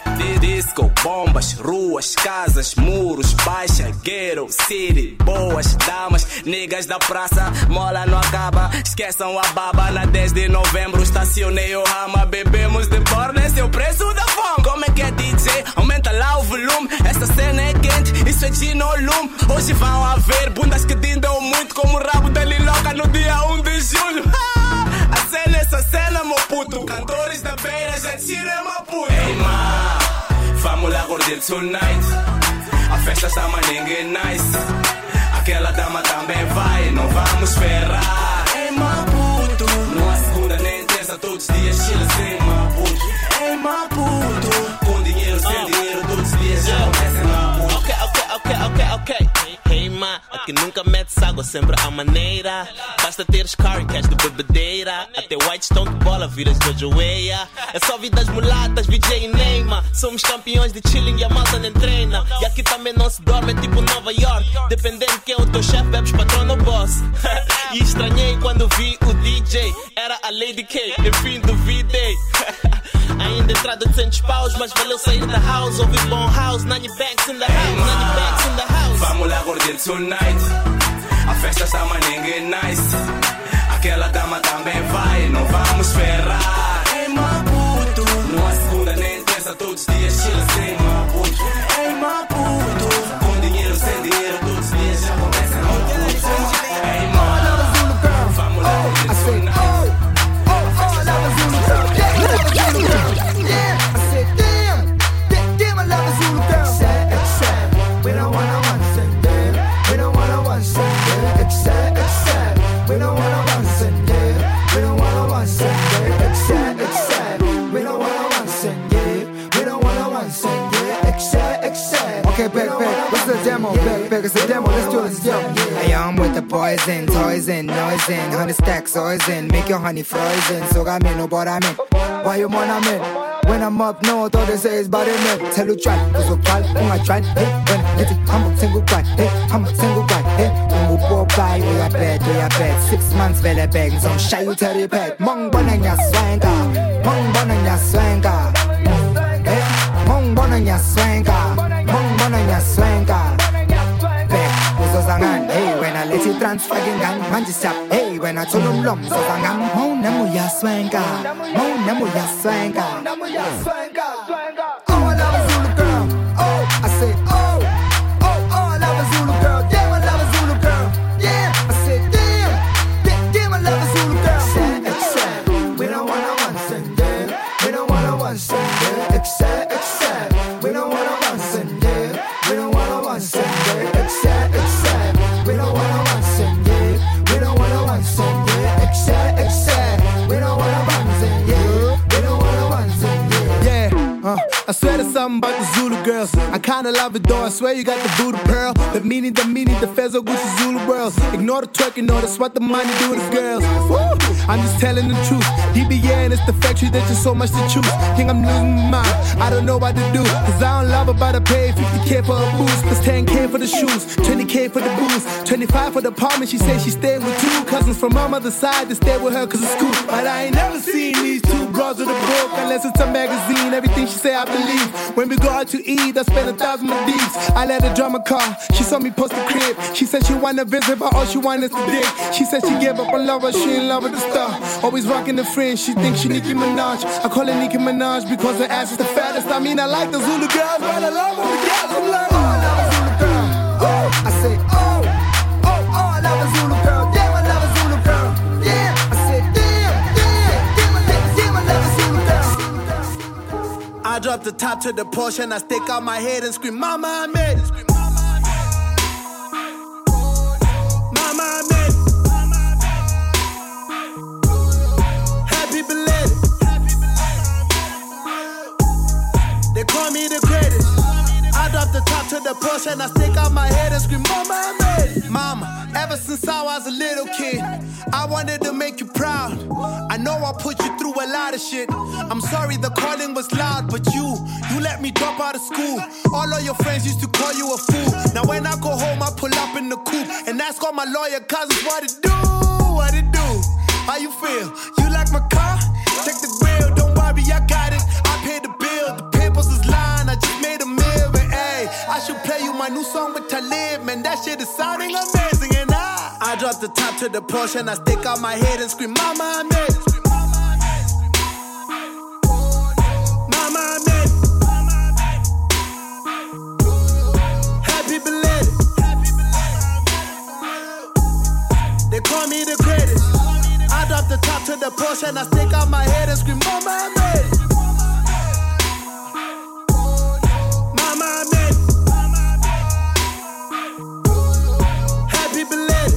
Disco, bombas, ruas, casas, muros, baixa, ghetto, city, boas damas, niggas da praça, mola não acaba, esqueçam a baba. Na dez de novembro estacionei o rama, bebemos de borda, esse é o preço da fome. Como é que é D J? Aumenta lá o volume, essa cena é quente, isso é gin ou lume. Hoje vão haver bundas que dindam muito como o rabo da Liloca no dia um de julho. A cena, essa cena, meu puto, cantores da beira já tiram meu puto. Ei, ma, vamos lá curtir tonight. A festa está maningue nice. Aquela dama também vai, não vamos esperar. Ei, Maputo, numa segunda nem terça, todos os dias chile sem Maputo. Ei, Maputo, com dinheiro, sem dinheiro, todos os dias já acontecem Maputo. Ok, ok, ok, ok, ok. Hey ma, aqui nunca metes água, sempre a maneira. Basta teres car cash de bebedeira. Até white stone de bola, viras Jojo Weia. É só vidas mulatas, V J e Neymar. Somos campeões de chilling e a malta nem treina. E aqui também não se dorme, é tipo Nova York. Dependendo de quem é o teu chefe, bebes patrão ou boss. E estranhei quando vi o D J. Era a Lady K, enfim duvidei. Ainda entrada de cem paus, mas valeu sair da house. Ouvir bom house, Nanny Banks in the house, Nanny Banks in the house. Vamos lá curtir tonight. A festa está maningue nice. Aquela dama também vai, não vamos esperar. Ei Maputo, numa segunda nem terça, todos os dias chile sem Maputo. Ei Maputo, com dinheiro, sem dinheiro, todos os dias já começam a Maputo. Ei Maputo, vamos lá curtir tonight. Okay, back, back, what's the demo? Back, back, it's a demo, let's do this, yo. I am with the poison, toys in, noise in, honey stacks, oils in, make your honey frozen. So I mean, no, but I mean, why you want I mean? When I'm up north, all they say is body man. Tell you try, cause we'll call, when I try, hey, when it's a humble single guy, hey, humble single guy, hey, when we walk by, we are bad, we are bad. Six months, vele bag, so shy you tell you bad. Mong bonanya swanga, mong bonanya swanga, hey, mong bonanya swanga, mong bonanya swanga. Back, uso zangan, hey, when I let you transfer gang, man just up, hey, when I told them lum, so zangan, mong namu ya swanga, mong namu ya swanga. Oh, I love a Zulu girl. Oh, I say, oh, oh, oh, I love a Zulu girl. Damn, I love a Zulu girl. Yeah, I say, damn, damn, damn, I love a Zulu girl. Except, we don't wanna one send yeah. We don't wanna one send yeah. Except, except, we don't wanna one send yeah. We don't wanna one send yeah. Except, except, we don't wanna one send yeah. We don't wanna one send yeah. Except, except, we don't wanna one send yeah. We don't wanna one send yeah. Yeah, uh, I swear there's something about the Zulu girls. I kinda love it though, I swear you got the voodoo pearl. The meaning, the meaning, the Fezo Gucci Zulu girls. Ignore the twerking, no, that's what the money do to the girls. Woo! I'm just telling the truth. D B N is the factory, there's just so much to choose. Think I'm losing my mind, I don't know what to do. Cause I don't love her, but I pay fifty K for a boost. Plus ten K for the shoes, twenty K for the booze, twenty-five for the apartment. She said she stayed with two cousins from my mother's side to stay with her cause it's cool. But I ain't never seen these two bros with a book unless unless it's a magazine. Everything she say I believe. When we go out to eat, I spend a thousand of these. I let her drive my car, she saw me post the crib. She said she wanna visit, but all she want is the dick. She said she gave up on love, but she in love with the star. Always rocking the fringe, she thinks she Nicki Minaj. I call her Nicki Minaj because her ass is the fattest. I mean, I like the Zulu girls, but I love all the girls. I'm like, oh, I love a Zulu girl. Oh, I say, oh, oh, oh, I love a Zulu girl. Damn, I love a Zulu girl. Yeah, I said, damn, damn, damn, I love, damn, I love a Zulu girl. I drop the top to the Porsche and I stick out my head and scream, Mama, I made it. Mama, I made it. Happy belated. They call me the greatest. I drop the top to the Porsche and I stick out my head and scream, Mama, I made it. Mama, ever since I was a little kid, I wanted to make you proud. I know I put you through a lot of shit. I'm sorry the calling was loud, but you, you let me drop out of school. All of your friends used to call you a fool. Now when I go home, I pull up in the coupe and ask all my lawyer cousins what it do, what it do. How you feel? You like my car? Check the grill, don't worry, I got it. I paid the bill, the papers is lying, I just made a meal. But hey, I should play you my new song with Talib, man, that shit is sounding amazing. And I, I drop the top to the Porsche and I stick out my head and scream, Mama, I made it. Mama, I made it. Happy belated. They call me the greatest. I drop the top to the Porsche and I stick out my head and scream, Mama, I made it. Mama, I made it. Happy belated.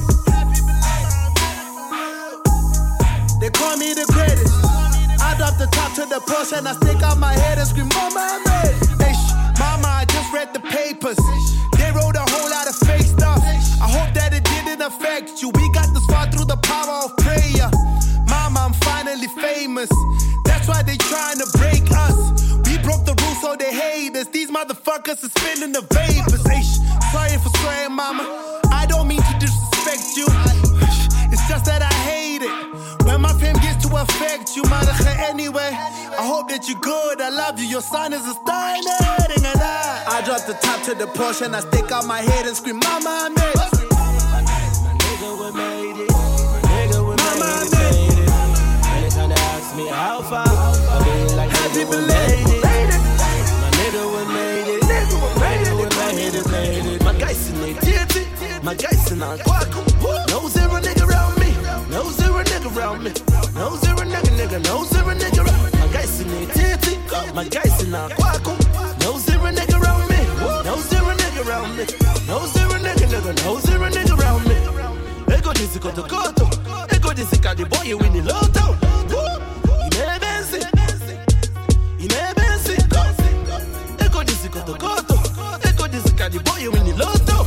They call me the greatest. I drop the top to the Porsche and I stick out my head and scream, Mama, I made it. Hey, sh- Mama, I just read the papers. They wrote a whole lot of fake stuff. I hope that it didn't affect you. We got this far through the power of prayer. Mama, I'm finally famous. That's why they trying to break us. We broke the rules so they hate us. These motherfuckers are spinning the vapors. Hey, sh- sorry for swearing, Mama. I don't mean to disrespect you. It's just that I hate it when my fame gets to affect you, mother. Anyway, I hope that you're good. I love you. Your son is a star and everything. And I, I drop the top to the Porsche and I stick out my head and scream, Mama, I made it. My nigga, we made it. My nigga, we Mama, made, made it. And they kinda ask me how far. I be like, happy belated. My nigga, we made it. Nigga, we made it. We made it, made it. My guys in the titty. My guys in the quack. No zero nigga around me. No zero nigga around me. No zero nigga, nigga. No zero nigga around me. My guys in the titty. My guys in the quack. No zero nigga around me. No zero nigga around me. No zero nigga, nigga. No zero nigga around me. Ego disi koto koto. Ego disi kadi boy you win the lotto. Ime benzi. Ime benzi. Ego disi koto koto. Ego disi kadi boy you win the lotto.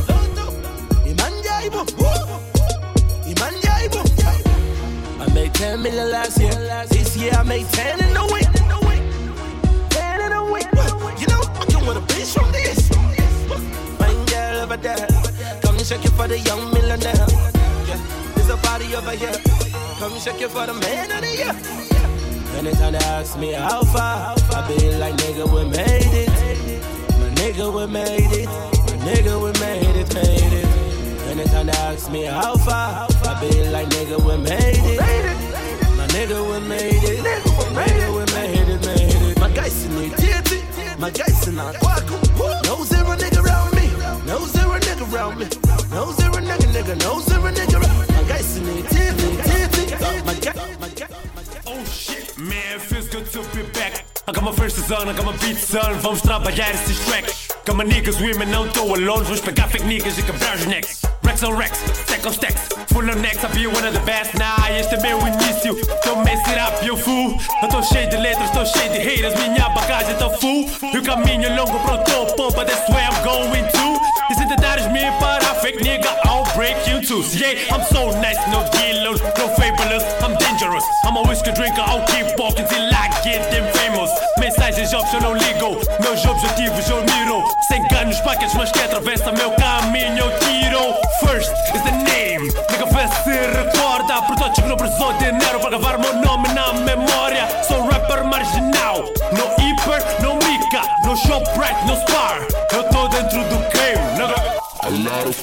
I made ten million last year. This year I made ten in a week. Ten in a week. You know, I can want a bitch from this. Fine girl over there. Come and shake it for the young millionaire. Yeah, there's a party over here. Come and shake it for the man of the year. Anytime they ask me how far, I be like, nigga, we made it. My nigga, we made it. My nigga, we made it, made it. Anytime they ask me how far, I be like, nigga, we made it. My nigga, we made it. My nigga, we made it, made it. My guys in the titty. My guys in the quack. No zero nigga around me. No zero nigga around me. No zero nigga, nigga. No zero nigga around me. My guys in the titty. My guy, my guy. Oh shit, man, feels good to be back. I got my first son, I got my beat son. Vamos trabalhar esses tracks. Got my niggas, women, não tô alone. Vamos pegar fake niggas e quebrar os necks. Rex on Rex, stack on stacks. Full on necks, I be one of the best. Nah, este é meu início. Don't mess it up, you fool. Eu tô cheio de letras, tô cheio de haters. Minha bagagem tá full. E o caminho longo pro topo, but that's where I'm going to. E se tentares me parar, fake nigga, I'll break you too. Yeah, I'm so nice, no kilos, no fabulous. I'm dangerous, I'm a whiskey drinker. I'll keep walking till I get them famous. Mensagens óbvias eu não ligo. Meus objetivos eu miro. Sem ganos, paquetes, mas que atravessa meu caminho eu tiro. First is the name. Nigga vê se recorda. Por todos que não precisou de dinheiro para gravar meu nome na memória. Sou rapper marginal.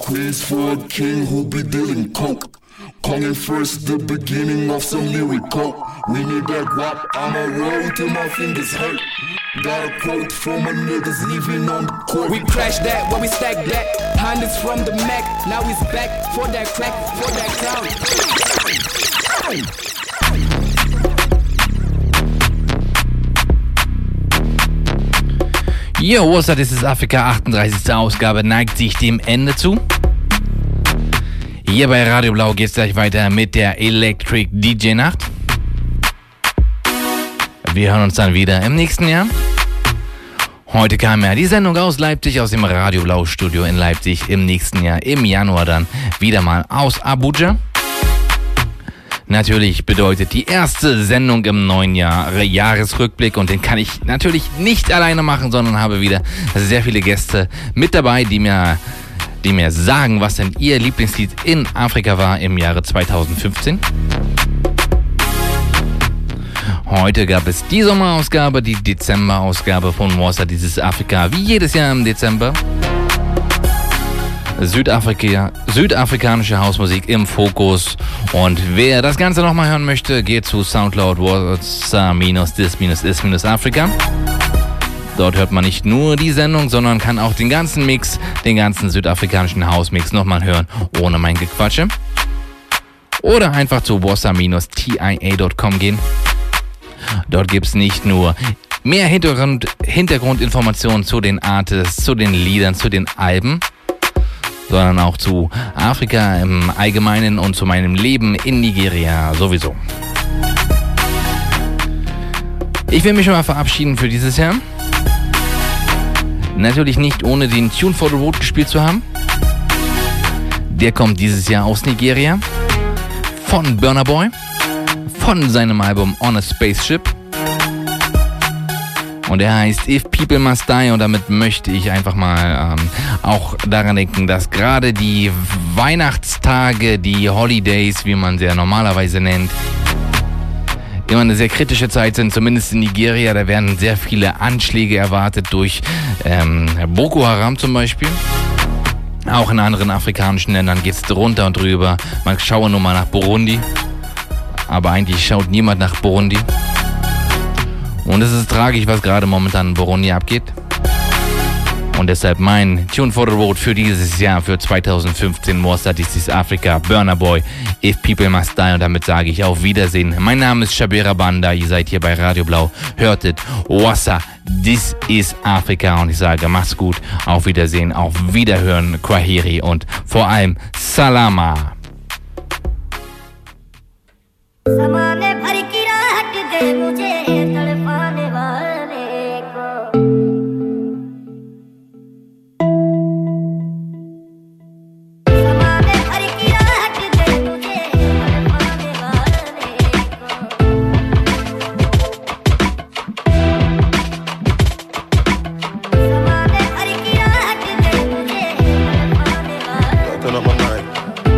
Squeeze for a king who be dealing coke. Coming first, the beginning of some lyrical. We need that guap, I'ma roll till my fingers hurt. Got a quote from my niggas living on the court. We crash that, where we stack that. Hundreds from the Mac, now he's back for that crack, for that clown. Yo, what's up, das ist Afrika, achtunddreißigste Ausgabe, neigt sich dem Ende zu. Hier bei Radio Blau geht's gleich weiter mit der Electric D J Nacht. Wir hören uns dann wieder im nächsten Jahr. Heute kam ja die Sendung aus Leipzig, aus dem Radio Blau Studio in Leipzig. Im nächsten Jahr, im Januar dann wieder mal aus Abuja. Natürlich bedeutet die erste Sendung im neuen Jahr Jahresrückblick und den kann ich natürlich nicht alleine machen, sondern habe wieder sehr viele Gäste mit dabei, die mir, die mir sagen, was denn ihr Lieblingslied in Afrika war im Jahre zweitausendfünfzehn. Heute gab es die Sommerausgabe, die Dezemberausgabe von Warsaw, dieses Afrika, wie jedes Jahr im Dezember. Südafrika, südafrikanische Hausmusik im Fokus. Und wer das Ganze nochmal hören möchte, geht zu Soundcloud Warsaw-Dis-Is-Afrika. Dort hört man nicht nur die Sendung, sondern kann auch den ganzen Mix, den ganzen südafrikanischen Hausmix nochmal hören, ohne mein Gequatsche. Oder einfach zu warsaw-T I A Punkt com gehen. Dort gibt es nicht nur mehr Hintergrund, Hintergrundinformationen zu den Artists, zu den Liedern, zu den Alben, sondern auch zu Afrika im Allgemeinen und zu meinem Leben in Nigeria sowieso. Ich will mich schon mal verabschieden für dieses Jahr. Natürlich nicht ohne den Tune for the Road gespielt zu haben. Der kommt dieses Jahr aus Nigeria. Von Burna Boy. Von seinem Album On a Spaceship. Und er heißt If People Must Die und damit möchte ich einfach mal ähm, auch daran denken, dass gerade die Weihnachtstage, die Holidays, wie man sie ja normalerweise nennt, immer eine sehr kritische Zeit sind, zumindest in Nigeria. Da werden sehr viele Anschläge erwartet durch ähm, Boko Haram zum Beispiel. Auch in anderen afrikanischen Ländern geht es drunter und drüber. Man schaue nur mal nach Burundi, aber eigentlich schaut niemand nach Burundi. Und es ist tragisch, was gerade momentan in Burundi abgeht. Und deshalb mein Tune for the Road für dieses Jahr, für zweitausendfünfzehn, Warsaw, This is Africa, Burna Boy, If People Must Die. Und damit sage ich auf Wiedersehen. Mein Name ist Shabira Banda, ihr seid hier bei Radio Blau. Hörtet Warsaw, This is Africa. Und ich sage, macht's gut, auf Wiedersehen, auf Wiederhören, Kwaheri und vor allem Salama. ज़माने भर की राहत दे मुझे तड़पाने वाले को ज़माने भर की राहत दे मुझे तड़पाने वाले को ज़माने भर की राहत दे मुझे तड़पाने वाले को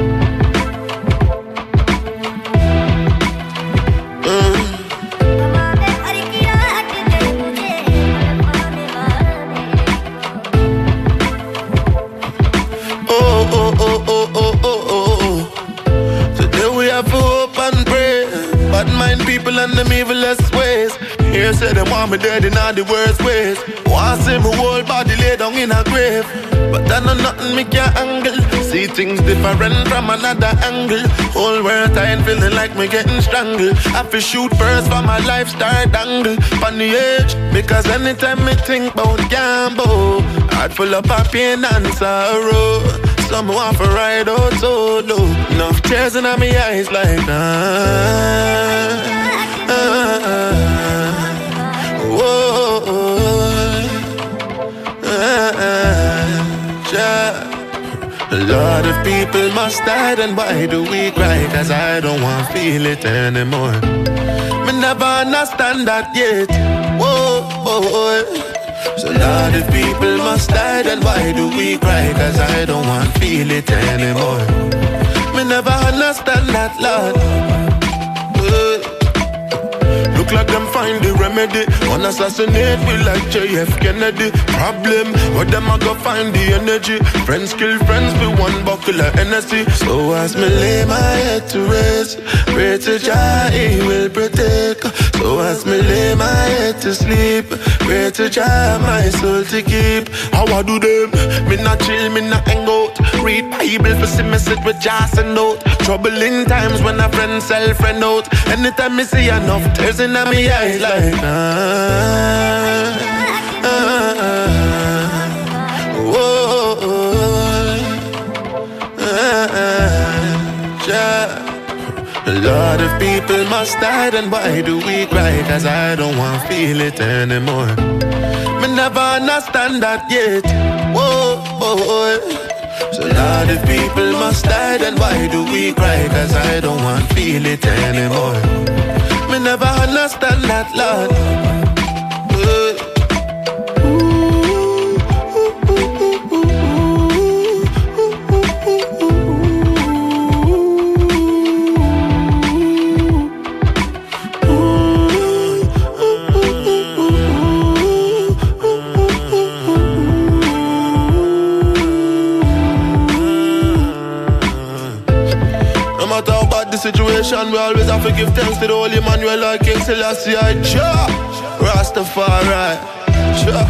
People and them evilest ways. Here say them want me dead in all the worst ways. Want see me whole body lay down in a grave, but I know nothing me can angle. See things different from another angle. Whole world tired, feeling like me getting strangled. I feel shoot first for my life start dangle on the edge, because anytime me think about gamble, heart full of pain and sorrow. Some want to ride out solo. Enough tears in my eyes like ah, ah, ah, whoa, ah, ah, yeah. A lot of people must die, then why do we cry? Cause I don't want to feel it anymore. Me never understand that yet. Whoa, whoa. So a lot of people must die, then why do we cry? Cause I don't want to feel it anymore. Me never understand that, Lord. Uh, Look look like them find the remedy. Wanna assassinate me like J F Kennedy. Problem, where them I go find the energy. Friends kill friends with one buckle of energy. So as me lay my head to rest, pray to Jah he will protect. So as me lay my head to sleep, pray to Jah my soul to keep. How I do them? Me not chill, me not hang out. Read Bible for see me sit with jars and note. Troubling times when a friend sell friend out. Anytime me see enough tears in my eyes like ah, ah, ah, whoa, ah, ah, yeah. A lot of people must die, then why do we cry? Cause I don't want to feel it anymore. Me never understand that yet. Whoa, whoa, whoa. So a lot of people must die, then why do we cry? Cause I don't want to feel it anymore. Me never understand that, Lord. Uh. Situation, we always have to give thanks to the Holy Emmanuel, like King Selassie, Jah, Rastafari, Jah.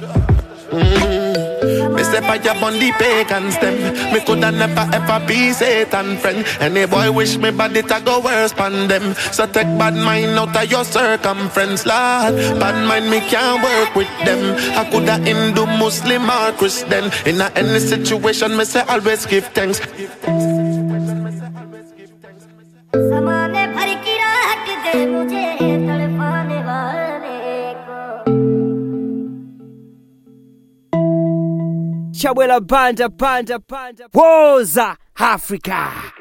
Mm. Me step out up on the pagan stem. Me coulda never ever be Satan friend. Any boy wish me body to go worse pan them. So take bad mind out of your circumference, Lord. Bad mind me can't work with them. I coulda Hindu, Muslim or Christian. In a any situation, me say always give thanks. समाने भर की रात दे मुझे तड़पाने वाले को. Chawela Banda, Banda, Banda, Woza, Africa.